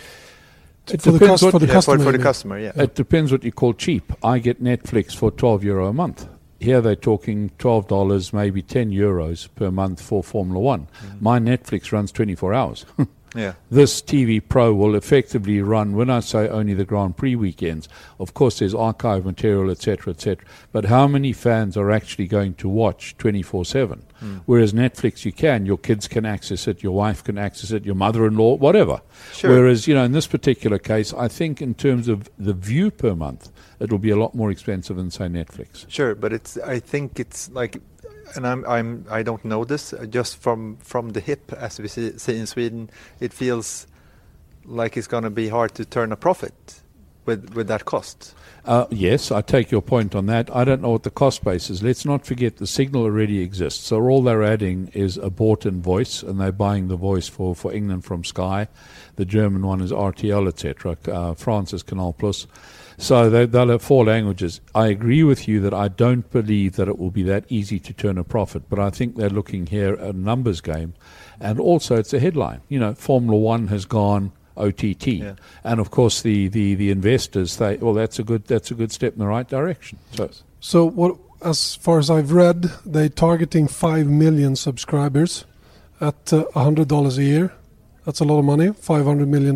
For the customer, yeah. It depends what you call cheap. I get Netflix for €12 a month. Here they're talking $12, maybe €10 per month for Formula One. My Netflix runs 24 hours. Yeah. This TV Pro will effectively run, when I say only the Grand Prix weekends, of course there's archive material, etc., but how many fans are actually going to watch 24/7? Whereas Netflix, your kids can access it, your wife can access it, your mother-in-law, whatever. Sure. Whereas, in this particular case, I think in terms of the view per month, it'll be a lot more expensive than, say, Netflix. Sure, but I think it's like, and I don't know this, just from the hip, as we see in Sweden, it feels like it's going to be hard to turn a profit with that cost. Yes, I take your point on that. I don't know what the cost base is. Let's not forget the signal already exists. So all they're adding is a bought-in voice, and they're buying the voice for England from Sky. The German one is RTL, etc. France is Canal Plus. So they'll have 4 languages. I agree with you that I don't believe that it will be that easy to turn a profit, but I think they're looking here at a numbers game. And also it's a headline. Formula One has gone OTT. Yeah. And of course the investors say, well, that's a good step in the right direction. So what, as far as I've read, they're targeting 5 million subscribers at $100 a year. That's a lot of money, $500 million,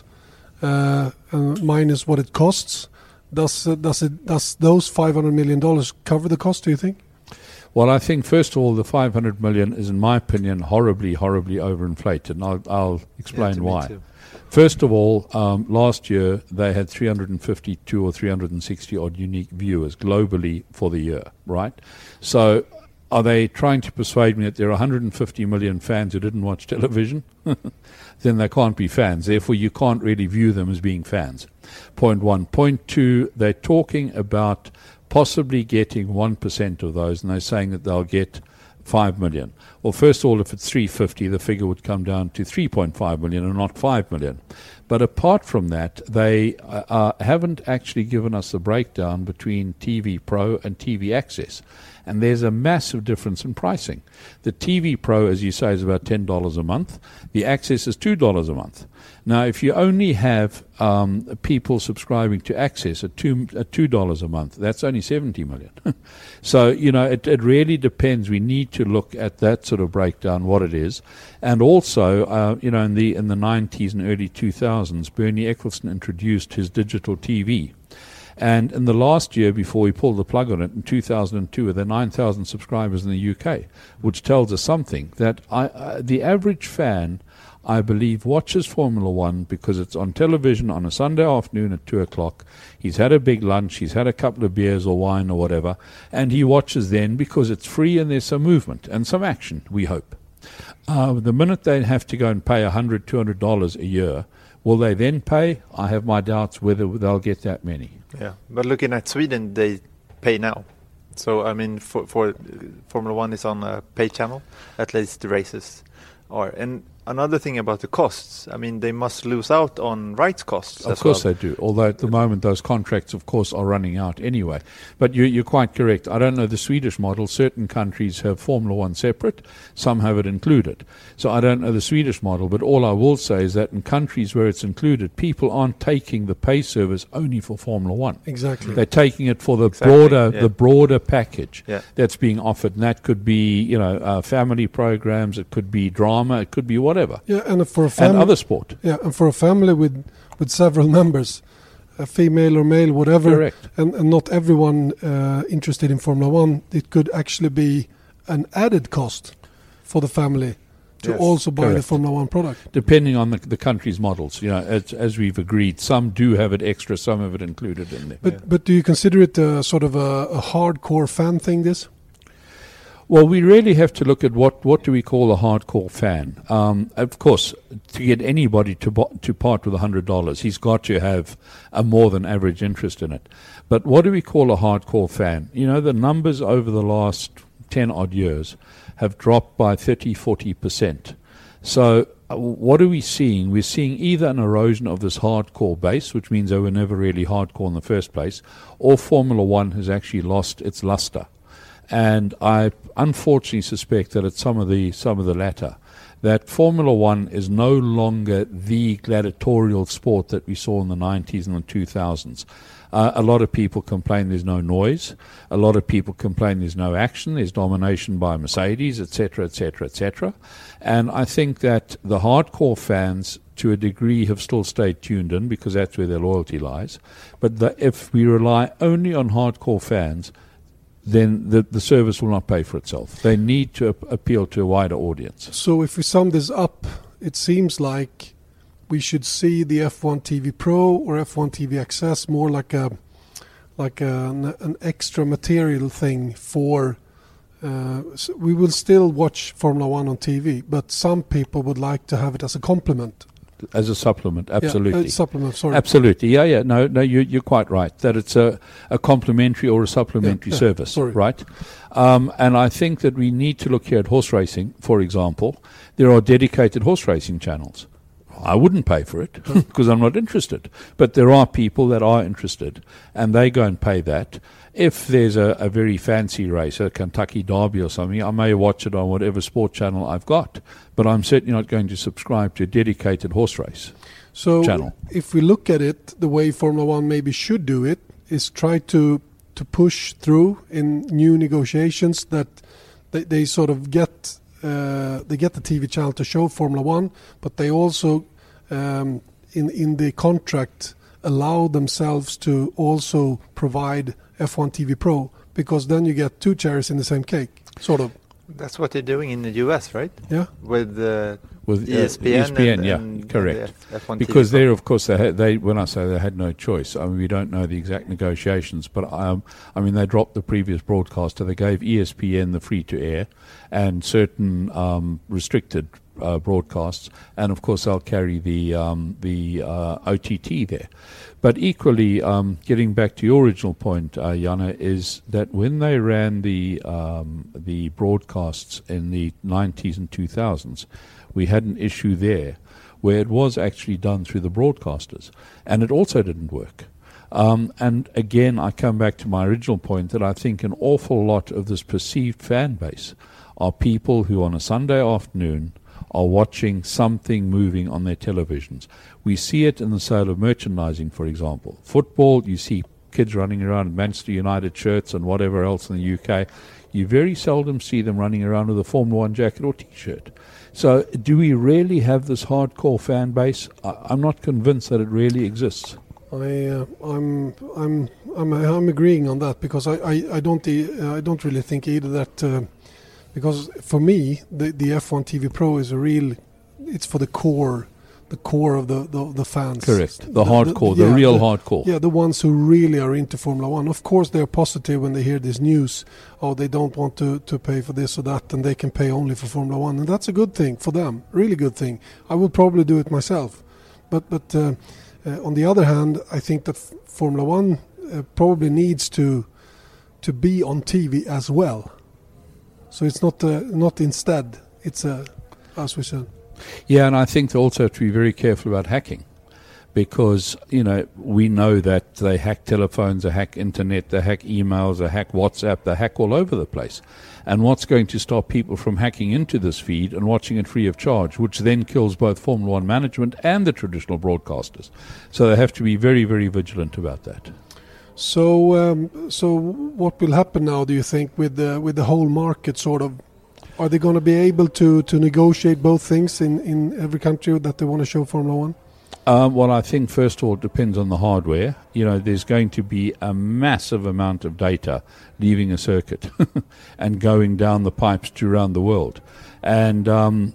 and minus what it costs. Does those $500 million cover the cost, do you think? Well, I think, first of all, the $500 million is, in my opinion, horribly, horribly overinflated, and I'll explain why. Too. First of all, last year they had 352 or 360 odd unique viewers globally for the year, right? So are they trying to persuade me that there are 150 million fans who didn't watch television? Then they can't be fans. Therefore, you can't really view them as being fans. Point one. Point two, they're talking about possibly getting 1% of those, and they're saying that they'll get 5 million. Well, first of all, if it's 350, the figure would come down to 3.5 million and not 5 million. But apart from that, they haven't actually given us a breakdown between TV Pro and TV Access. And there's a massive difference in pricing. The TV Pro, as you say, is about $10 a month. The Access is $2 a month. Now, if you only have people subscribing to Access at $2 a month, that's only 70 million. So, it really depends. We need to look at that sort of breakdown, what it is. And also, in the 90s and early 2000s, Bernie Ecclestone introduced his digital TV. And in the last year, before we pulled the plug on it, in 2002, there were 9,000 subscribers in the UK, which tells us something, that the average fan, I believe, watches Formula One because it's on television on a Sunday afternoon at 2 o'clock. He's had a big lunch, he's had a couple of beers or wine or whatever, and he watches then because it's free and there's some movement and some action, we hope. The minute they have to go and pay $100, $200 a year, will they then pay? I have my doubts whether they'll get that many. Yeah, but looking at Sweden, they pay now. So, I mean, for Formula One is on a pay channel, at least the races are. And another thing about the costs, I mean, they must lose out on rights costs Of course well. they do, although at the moment those contracts, of course, are running out anyway. But you're quite correct. I don't know the Swedish model. Certain countries have Formula One separate. Some have it included. So I don't know the Swedish model, but all I will say is that in countries where it's included, people aren't taking the pay service only for Formula One. Exactly. They're taking it for the Exactly, yeah. broader package Yeah. that's being offered. And that could be, family programs, it could be drama, it could be whatever. Yeah, and for a And family, other sport. yeah, and for a family with several members, a female or male, whatever, Correct. and not everyone interested in Formula One, it could actually be an added cost for the family to Yes, also buy the correct. Formula One product. Depending on the country's models, as we've agreed, some do have it extra, some have it included in there. But do you consider it sort of a hardcore fan thing, this? Well, we really have to look at what do we call a hardcore fan. Of course, to get anybody to part with $100, he's got to have a more than average interest in it. But what do we call a hardcore fan? The numbers over the last 10 odd years have dropped by 30-40%. So what are we seeing? We're seeing either an erosion of this hardcore base, which means they were never really hardcore in the first place, or Formula One has actually lost its luster. And I unfortunately suspect that it's some of the latter. that Formula One is no longer the gladiatorial sport that we saw in the 90s and the 2000s. A lot of people complain there's no noise. A lot of people complain there's no action. There's domination by Mercedes, etc., etc., etc. And I think that the hardcore fans, to a degree, have still stayed tuned in because that's where their loyalty lies. But if we rely only on hardcore fans, then the service will not pay for itself. They need to appeal to a wider audience. So if we sum this up, it seems like we should see the F1 TV Pro or F1 TV XS more like an extra material thing for. So we will still watch Formula One on TV, but some people would like to have it as a complement. As a supplement, absolutely. Yeah, supplement, sorry. Absolutely, yeah. No, you're quite right, that it's a complementary or a supplementary service, sorry. Right? And I think that we need to look here at horse racing, for example. There are dedicated horse racing channels. I wouldn't pay for it because I'm not interested. But there are people that are interested, and they go and pay that. If there's a very fancy race, a Kentucky Derby or something, I may watch it on whatever sport channel I've got. But I'm certainly not going to subscribe to a dedicated horse race channel. If we look at it, the way Formula One maybe should do it is try to push through in new negotiations that they sort of get they get the TV channel to show Formula One, but they also in the contract allow themselves to also provide F1 TV Pro, because then you get two cherries in the same cake, sort of. That's what they're doing in the US, right? Yeah. With ESPN, and correct. The F1 because TV there, of course, they when I say they had no choice, I mean, we don't know the exact negotiations, but I mean, they dropped the previous broadcaster. They gave ESPN the free-to-air and certain restricted broadcasts, and of course they'll carry the OTT there. But equally, getting back to your original point, Jana, is that when they ran the broadcasts in the 90s and 2000s, we had an issue there where it was actually done through the broadcasters, and it also didn't work. And again, I come back to my original point that I think an awful lot of this perceived fan base are people who on a Sunday afternoon are watching something moving on their televisions. We see it in the sale of merchandising, for example. Football, you see kids running around in Manchester United shirts and whatever else in the UK. You very seldom see them running around with a Formula One jacket or T-shirt. So do we really have this hardcore fan base? I'm not convinced that it really exists. I'm agreeing on that, because I don't really think either that because for me the F1 TV Pro is it's for the core of the fans. Correct. The hardcore, the real hardcore. Yeah, the ones who really are into Formula One. Of course, they're positive when they hear this news. Oh, they don't want to pay for this or that, and they can pay only for Formula One, and that's a good thing for them. Really good thing. I would probably do it myself, but on the other hand, I think that Formula One probably needs to be on TV as well. So it's not instead. It's as we said. Yeah, and I think they also have to be very careful about hacking, because we know that they hack telephones, they hack internet, they hack emails, they hack WhatsApp, they hack all over the place. And what's going to stop people from hacking into this feed and watching it free of charge, which then kills both Formula One management and the traditional broadcasters? So they have to be very, very vigilant about that. So what will happen now, do you think, with the whole market sort of? Are they going to be able to negotiate both things in every country that they want to show Formula One? Well, I think first of all it depends on the hardware. There's going to be a massive amount of data leaving a circuit and going down the pipes to around the world. And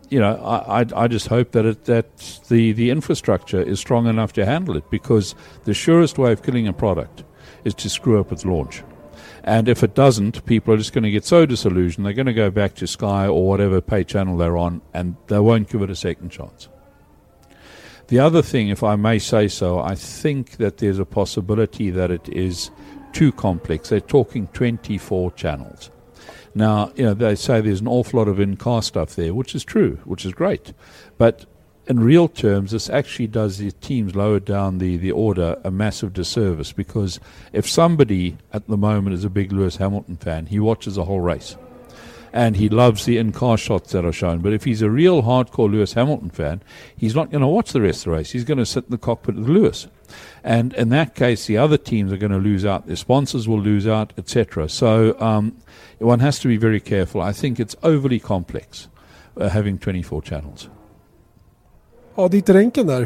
I just hope that the infrastructure is strong enough to handle it, because the surest way of killing a product is to screw up its launch. And if it doesn't, people are just going to get so disillusioned, they're going to go back to Sky or whatever pay channel they're on, and they won't give it a second chance. The other thing, if I may say so, I think that there's a possibility that it is too complex. They're talking 24 channels. Now, they say there's an awful lot of in-car stuff there, which is true, which is great. But in real terms, this actually does the teams lower down the order a massive disservice, because if somebody at the moment is a big Lewis Hamilton fan, he watches the whole race. and he loves the in-car shots that are shown. But if he's a real hardcore Lewis Hamilton fan, he's not going to watch the rest of the race. He's going to sit in the cockpit with Lewis. And in that case, the other teams are going to lose out. Their sponsors will lose out, etc. So one has to be very careful. I think it's overly complex having 24 channels. Ja, dit är ränken där.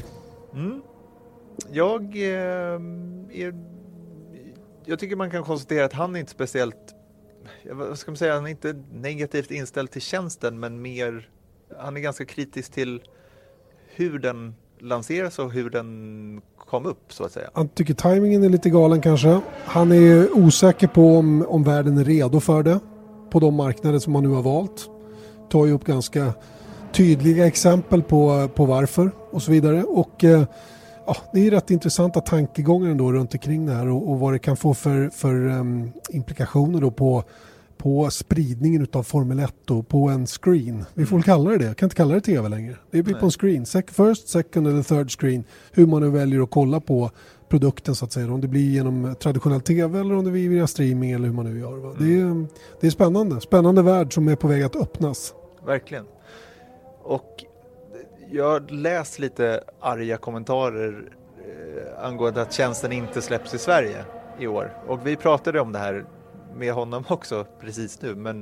Jag tycker man kan konstatera att han är inte speciellt, vad ska man säga, han är inte negativt inställd till tjänsten, men mer, han är ganska kritisk till hur den lanseras och hur den kom upp, så att säga. Han tycker timingen är lite galen kanske. Han är osäker på om världen är redo för det på de marknader som man nu har valt. Tar ju upp ganska tydliga exempel på varför och så vidare. Och det är rätt intressanta tankegångar ändå runt omkring det här och vad det kan få för implikationer då på spridningen av Formel 1 och på en screen. Vi får kalla det. Jag kan inte kalla det TV längre. Det blir på en screen. First, second eller third screen. Hur man nu väljer att kolla på produkten så att säga. Om det blir genom traditionell TV eller om det blir via streaming eller hur man nu gör. Va? Det är spännande. Spännande värld som är på väg att öppnas. Verkligen. Och jag läst lite arga kommentarer angående att tjänsten inte släpps i Sverige i år. Och vi pratade om det här med honom också precis nu, men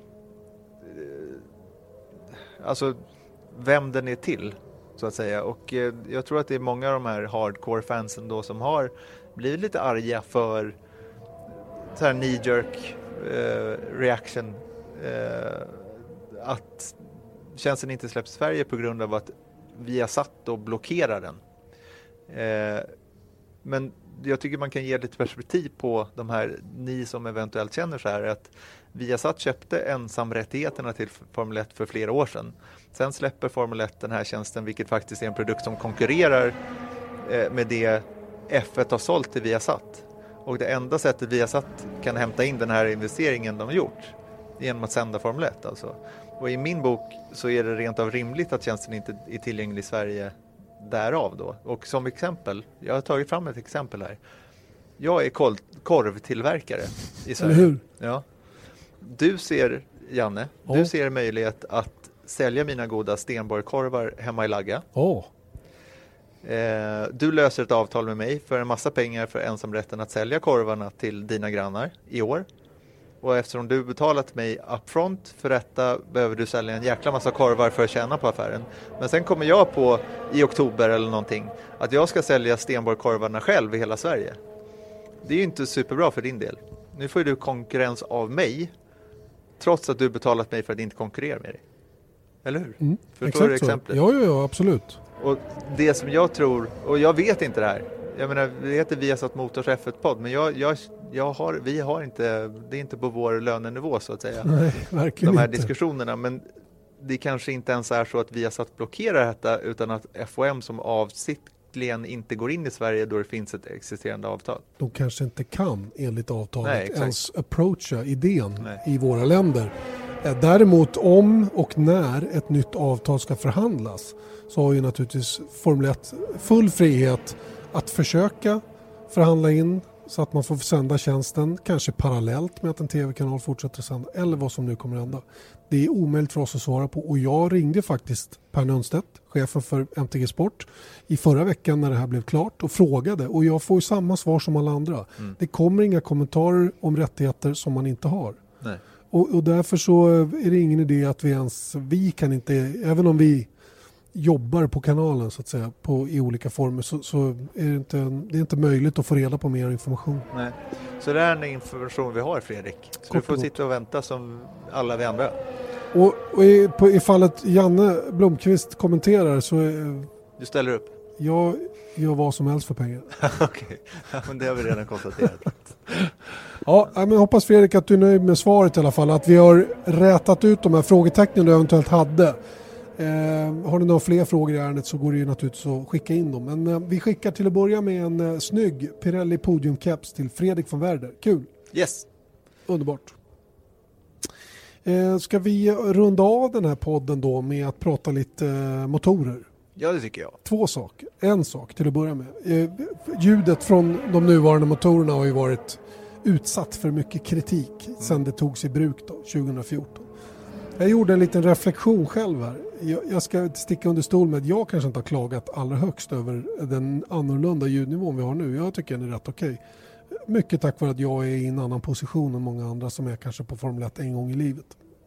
alltså vem den är till, så att säga. Och jag tror att det är många av de här hardcore-fansen då som har blivit lite arga för så här knee-jerk reaction att tjänsten inte släpps i Sverige på grund av att vi har satt och blockerar den. Men jag tycker man kan ge lite perspektiv på de här, ni som eventuellt känner så här, att Viasat köpte ensamrättigheterna till Formel 1 för flera år sedan. Sen släpper Formel 1 den här tjänsten, vilket faktiskt är en produkt som konkurrerar med det F1 har sålt till Viasat. Och det enda sättet Viasat kan hämta in den här investeringen de har gjort genom att sända Formel 1 alltså. Och i min bok så är det rent av rimligt att tjänsten inte är tillgänglig i Sverige därav då. Och som exempel, jag har tagit fram ett exempel här. Jag är korvtillverkare i Sverige. Eller hur? Ja. Du ser, Janne, du ser möjlighet att sälja mina goda Stenborg-korvar hemma i Lagga. Du löser ett avtal med mig för en massa pengar för ensamrätten att sälja korvarna till dina grannar i år. Och eftersom du betalat mig upfront för detta behöver du sälja en jäkla massa korvar för att tjäna på affären. Men sen kommer jag på i oktober eller någonting att jag ska sälja Stenborg-korvarna själv i hela Sverige. Det är ju inte superbra för din del. Nu får du konkurrens av mig trots att du betalat mig för att inte konkurrera med dig. Eller hur? Förstår du exemplet? Ja, absolut. Och det som jag tror, och jag vet inte det här. Jag menar, det heter Viasat Motors F1-podd, men vi har inte, det är inte på vår lönenivå så att säga. Nej, verkligen de här inte. Diskussionerna, men det kanske inte ens är så att Viasat blockerar detta, utan att FOM som avsiktligen inte går in i Sverige då det finns ett existerande avtal. De kanske inte kan enligt avtalet Nej, ens approacha idén i våra länder. Däremot om och när ett nytt avtal ska förhandlas så har ju naturligtvis Formel 1 full frihet att försöka förhandla in så att man får sända tjänsten kanske parallellt med att en tv-kanal fortsätter sända eller vad som nu kommer att hända. Det är omöjligt för oss att svara på och jag ringde faktiskt Per Nunstedt, chefen för MTG Sport, i förra veckan när det här blev klart och frågade och jag får ju samma svar som alla andra. Det kommer inga kommentarer om rättigheter som man inte har. Nej. Och därför så är det ingen idé att vi kan inte, även om vi jobbar på kanalen så att säga i olika former så är det är inte möjligt att få reda på mer information. Nej. Så det är den information vi har, Fredrik. Så du får sitta och vänta som alla vi andra. Och i fallet Janne Blomqvist kommenterar så du ställer upp? Jag gör vad som helst för pengar. Okej, men det har vi redan konstaterat. Ja, men hoppas Fredrik att du är nöjd med svaret i alla fall. Att vi har rätat ut de här frågetecknen du eventuellt hade. Har ni några fler frågor i ärendet så går det ju naturligtvis att skicka in dem. Men vi skickar till att börja med en snygg Pirelli podiumcaps till Fredrik von Werder. Kul! Yes! Underbart! Ska vi runda av den här podden då med att prata lite motorer? Ja, det tycker jag. 2 saker. En sak till att börja med. Ljudet från de nuvarande motorerna har ju varit utsatt för mycket kritik sedan det togs i bruk då, 2014. Jag gjorde en liten reflektion själv här. Jag ska sticka under stol med att jag kanske inte har klagat allra högst över den annorlunda ljudnivån vi har nu. Jag tycker den är rätt okej. Mycket tack vare att jag är i en annan position än många andra som är kanske på Formel 1 en gång i livet.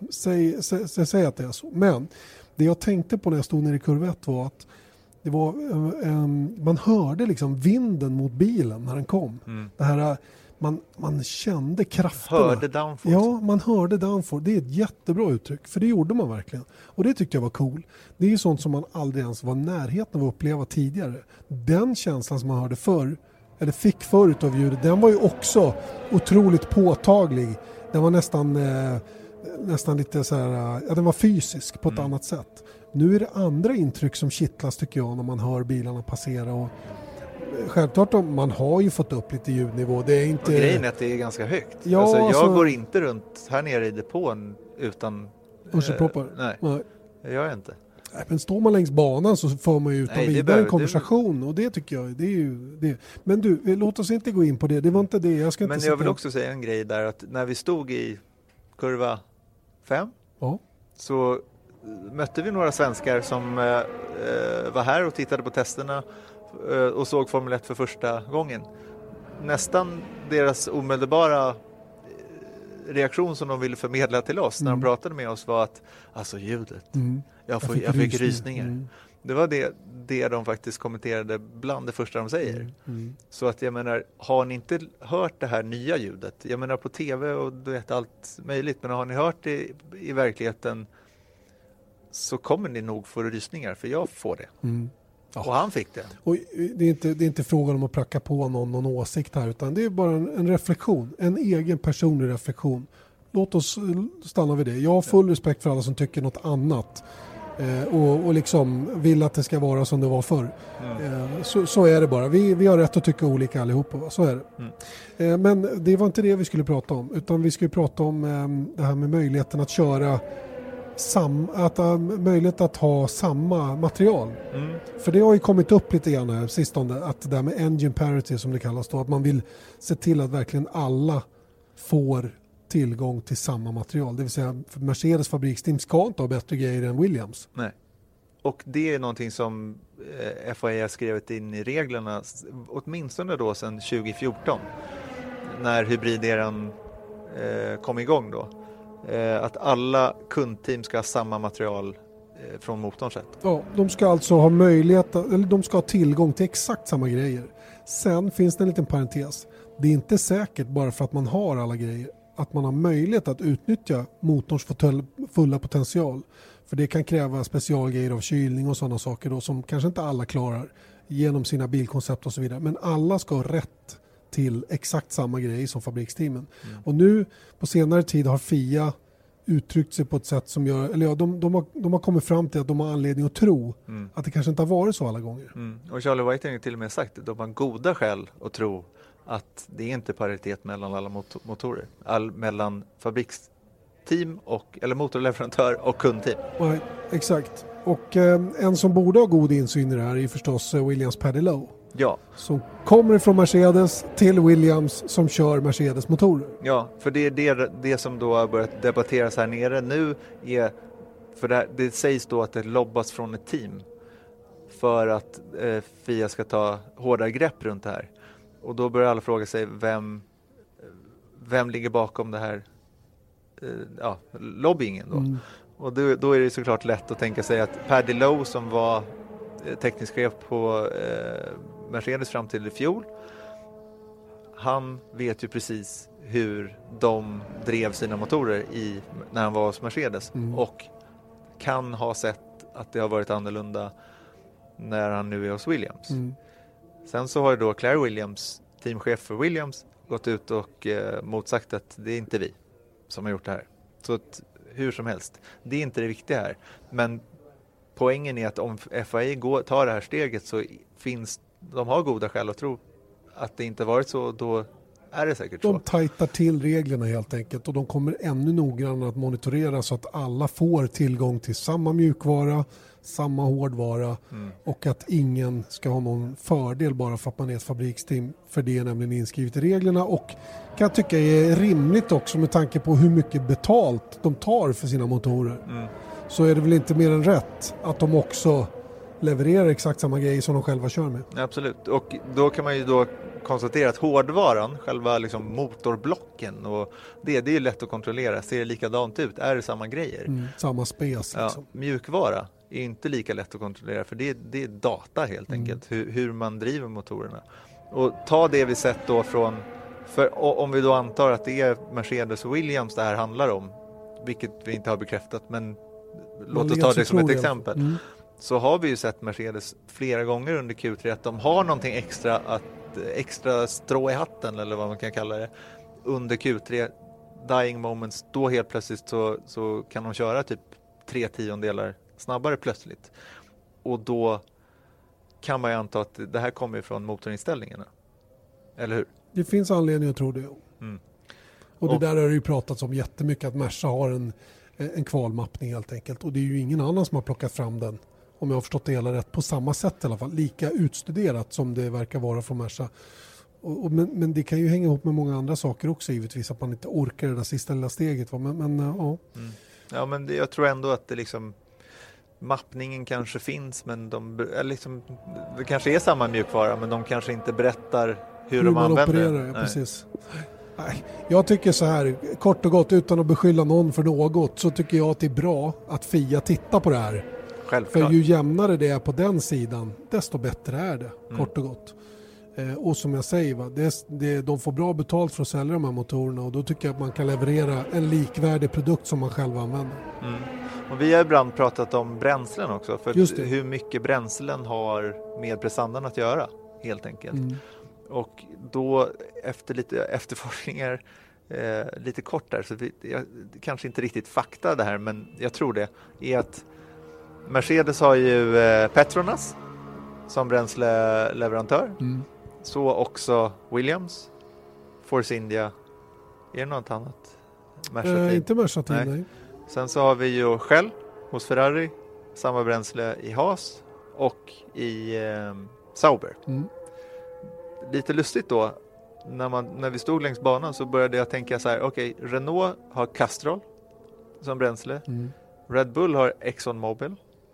Säg att det är så. Men det jag tänkte på när jag stod nere i kurva 1 var att det var, man hörde liksom vinden mot bilen när den kom. Det här, man kände krafterna. Hörde downforce. Ja, man hörde downforce. Det är ett jättebra uttryck. För det gjorde man verkligen. Och det tyckte jag var cool. Det är ju sånt som man aldrig ens var i närheten av att uppleva tidigare. Den känslan som man hörde förr, eller fick förut av ljudet, den var ju också otroligt påtaglig. Den var nästan lite så här, ja, den var fysisk på ett annat sätt. Nu är det andra intryck som kittlas tycker jag när man hör bilarna passera. Och självklart man har ju fått upp lite ljudnivå. Det är inte... Och grejen är att det är ganska högt. Ja, jag går inte runt här nere i depån utan... Hörselproppar? Nej, det gör jag inte. Nej, men står man längs banan så får man ju utan vidare en konversation. Och det tycker jag, det är ju det. Men du, låt oss inte gå in på det. Det var inte det. Jag vill också säga en grej där, att när vi stod i kurva 5 så mötte vi några svenskar som var här och tittade på testerna och såg Formel 1 för första gången. Nästan deras omedelbara reaktion som de ville förmedla till oss när de pratade med oss var att alltså ljudet, jag fick rysningar. Det var det de faktiskt kommenterade bland det första de säger. Så att jag menar, har ni inte hört det här nya ljudet? Jag menar på tv och du vet allt möjligt, men har ni hört det i verkligheten så kommer ni nog få rysningar, för jag får det. Ja. Och han fick det. Och det är inte frågan om att pracka på någon åsikt här, utan det är bara en reflektion, en egen personlig reflektion. Låt oss stanna vid det. Jag har full respekt för alla som tycker något annat och liksom vill att det ska vara som det var förr. Så är det bara. Vi har rätt att tycka olika allihopa. Så är det. Men det var inte det vi skulle prata om, utan vi skulle prata om det här med möjligheten att köra möjlighet att ha samma material. För det har ju kommit upp lite grann här sistone, att det där med engine parity som det kallas då, att man vill se till att verkligen alla får tillgång till samma material. Det vill säga Mercedes fabriksteam ska inte ha bättre grejer än Williams. Nej. Och det är någonting som FIA har skrivit in i reglerna åtminstone då sedan 2014 när hybrideran kom igång då. Att alla kundteam ska ha samma material från motorns sätt. Ja, de ska alltså ha möjlighet, eller de ska ha tillgång till exakt samma grejer. Sen finns det en liten parentes. Det är inte säkert bara för att man har alla grejer att man har möjlighet att utnyttja motorns fulla potential. För det kan kräva specialgrejer av kylning och sådana saker då, som kanske inte alla klarar genom sina bilkoncept och så vidare. Men alla ska ha rätt till exakt samma grej som fabriksteamen. Och nu på senare tid har FIA uttryckt sig på ett sätt som gör, eller ja, de har kommit fram till att de har anledning att tro att det kanske inte har varit så alla gånger. Och Charlie Whiting har till och med sagt att de har goda skäl att tro att det är inte paritet mellan alla motorer. Mellan fabriksteam eller motorleverantör och kundteam. Nej, exakt. Och en som borde ha god insyn i det här är förstås Williams Paddy Lowe. Ja. Som kommer från Mercedes till Williams som kör Mercedes motorer. Ja, för det är det som då har börjat debatteras här nere nu är, för det sägs då att det lobbas från ett team för att FIA ska ta hårdare grepp runt det här. Och då börjar alla fråga sig vem ligger bakom det här lobbyingen då. Och då är det såklart lätt att tänka sig att Paddy Lowe som var teknisk chef på Mercedes fram till i fjol, han vet ju precis hur de drev sina motorer när han var hos Mercedes och kan ha sett att det har varit annorlunda när han nu är hos Williams. Sen så har då Claire Williams, teamchef för Williams, gått ut och motsagt att det är inte vi som har gjort det här. Så att, hur som helst, det är inte det viktiga här. Men poängen är att om FIA tar det här steget så de har goda skäl att tro att det inte varit så, då är det säkert så. De tajtar till reglerna helt enkelt och de kommer ännu noggrannare att monitorera så att alla får tillgång till samma mjukvara, samma hårdvara och att ingen ska ha någon fördel bara för att man är ett fabriksteam, för det är nämligen inskrivet i reglerna och kan jag tycka är rimligt också med tanke på hur mycket betalt de tar för sina motorer. Så är det väl inte mer än rätt att de också levererar exakt samma grejer som de själva kör med. Absolut, och då kan man ju då konstatera att hårdvaran, själva liksom motorblocken och det är ju lätt att kontrollera. Ser det likadant ut? Är det samma grejer? Samma spes. Liksom. Mjukvara är inte lika lätt att kontrollera för det är data helt enkelt. Hur man driver motorerna. Och ta det vi sett då från, om vi då antar att det är Mercedes och Williams det här handlar om, vilket vi inte har bekräftat, men låt oss ta det som ett exempel. Så har vi ju sett Mercedes flera gånger under Q3 att de har någonting extra strå i hatten eller vad man kan kalla det under Q3 dying moments, då helt plötsligt så kan de köra typ 3/10 snabbare plötsligt och då kan man ju anta att det här kommer från motorinställningarna, eller hur? Det finns anledning att tro det. Och det där har det ju pratats om jättemycket att Merca har en kvalmappning helt enkelt och det är ju ingen annan som har plockat fram den. Om jag har förstått det hela rätt, på samma sätt i alla fall. Lika utstuderat som det verkar vara från Merca. Men det kan ju hänga ihop med många andra saker också givetvis. Att man inte orkar det där sista lilla steget. Ja, men jag tror ändå att det liksom... Mappningen kanske finns, men det kanske är samma mjukvara, men de kanske inte berättar hur de använder opererar, ja, precis. Nej, jag tycker så här, kort och gott, utan att beskylla någon för något, så tycker jag att det är bra att FIA tittar på det här. Självklart. För ju jämnare det är på den sidan, desto bättre är det, kort och gott. Och som jag säger, de får bra betalt för att sälja de här motorerna och då tycker jag att man kan leverera en likvärdig produkt som man själv använder. Och vi har ibland pratat om bränslen också, för hur mycket bränslen har med prestandan att göra, helt enkelt. Och då efter lite efterforskningar, lite kort där, så jag kanske inte riktigt fakta det här, men jag tror det, är att Mercedes har ju Petronas som bränsleleverantör. Så också Williams, Force India. Är det något annat? Inte Merca Team, nej. Sen så har vi ju Shell hos Ferrari, samma bränsle i Haas och i Sauber. Lite lustigt då, när vi stod längs banan så började jag tänka så här: okej, Renault har Castrol som bränsle. Red Bull har ExxonMobil.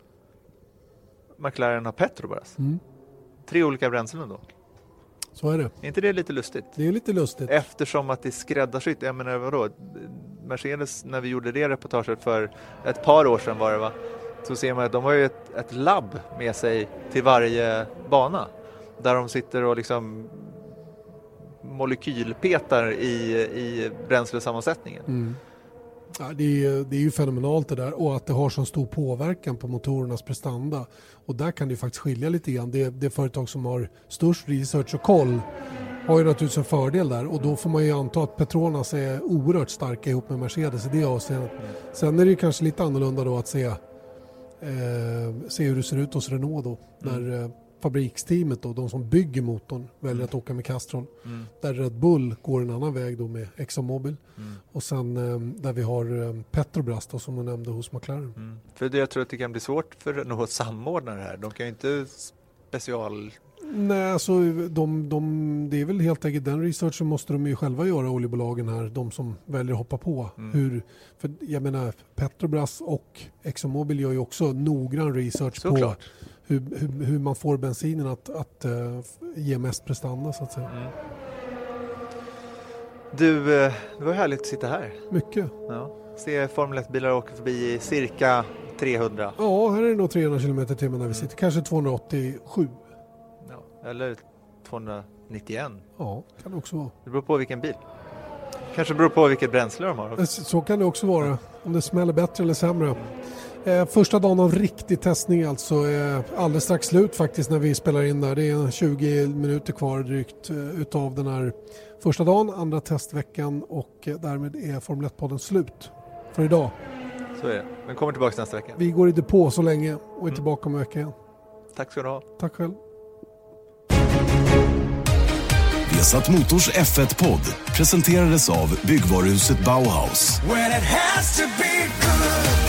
McLaren har Petrobras. 3 olika bränslen då. Så är det. Är inte det lite lustigt? Det är lite lustigt. Eftersom att det är skräddarsytt. Jag menar, vadå? Mercedes, när vi gjorde det reportaget för ett par år sedan var det, va? Så ser man att de har ju ett labb med sig till varje bana. Där de sitter och liksom molekylpetar i bränslesammansättningen. Ja, det är ju fenomenalt det där, och att det har så stor påverkan på motorernas prestanda. Och där kan det faktiskt skilja lite grann. Det företag som har störst research och koll har ju naturligtvis en fördel där, och då får man ju anta att Petronas är oerhört starka ihop med Mercedes i det avseendet. Sen är det ju kanske lite annorlunda då att se hur det ser ut hos Renault då, när fabriksteamet då, de som bygger motorn, väljer att åka med Castrol. Där Red Bull går en annan väg då med ExxonMobil. Och sen där vi har Petrobras då, som du nämnde hos McLaren. För det, jag tror att det kan bli svårt för Renault att samordna det här. De kan ju inte Nej, alltså det är väl helt enkelt den researchen måste de ju själva göra, oljebolagen här, de som väljer att hoppa på. För jag menar, Petrobras och ExxonMobil gör ju också noggrann research på hur man får bensinen att ge mest prestanda, så att säga. Du, det var härligt att sitta här. Mycket. Ja. Se Formel 1-bilar åka förbi i cirka 300. Ja, här är det nog 300 km/h när vi sitter. Kanske 287. Ja, eller 291. Ja, kan det också vara. Det beror på vilken bil. Kanske beror på vilket bränsle de har. Så kan det också vara. Om det smäller bättre eller sämre. Första dagen av riktig testning alltså är alldeles strax slut faktiskt när vi spelar in där. Det är 20 minuter kvar drygt utav den här första dagen, andra testveckan, och därmed är Formel 1-podden slut för idag. Så är det. Men kommer tillbaka nästa vecka. Vi går i depå så länge och är tillbaka om en vecka igen. Tack ska du ha. Tack själv. Esat Motors F1-podd presenterades av Byggvaruhuset Bauhaus. When it has to be good.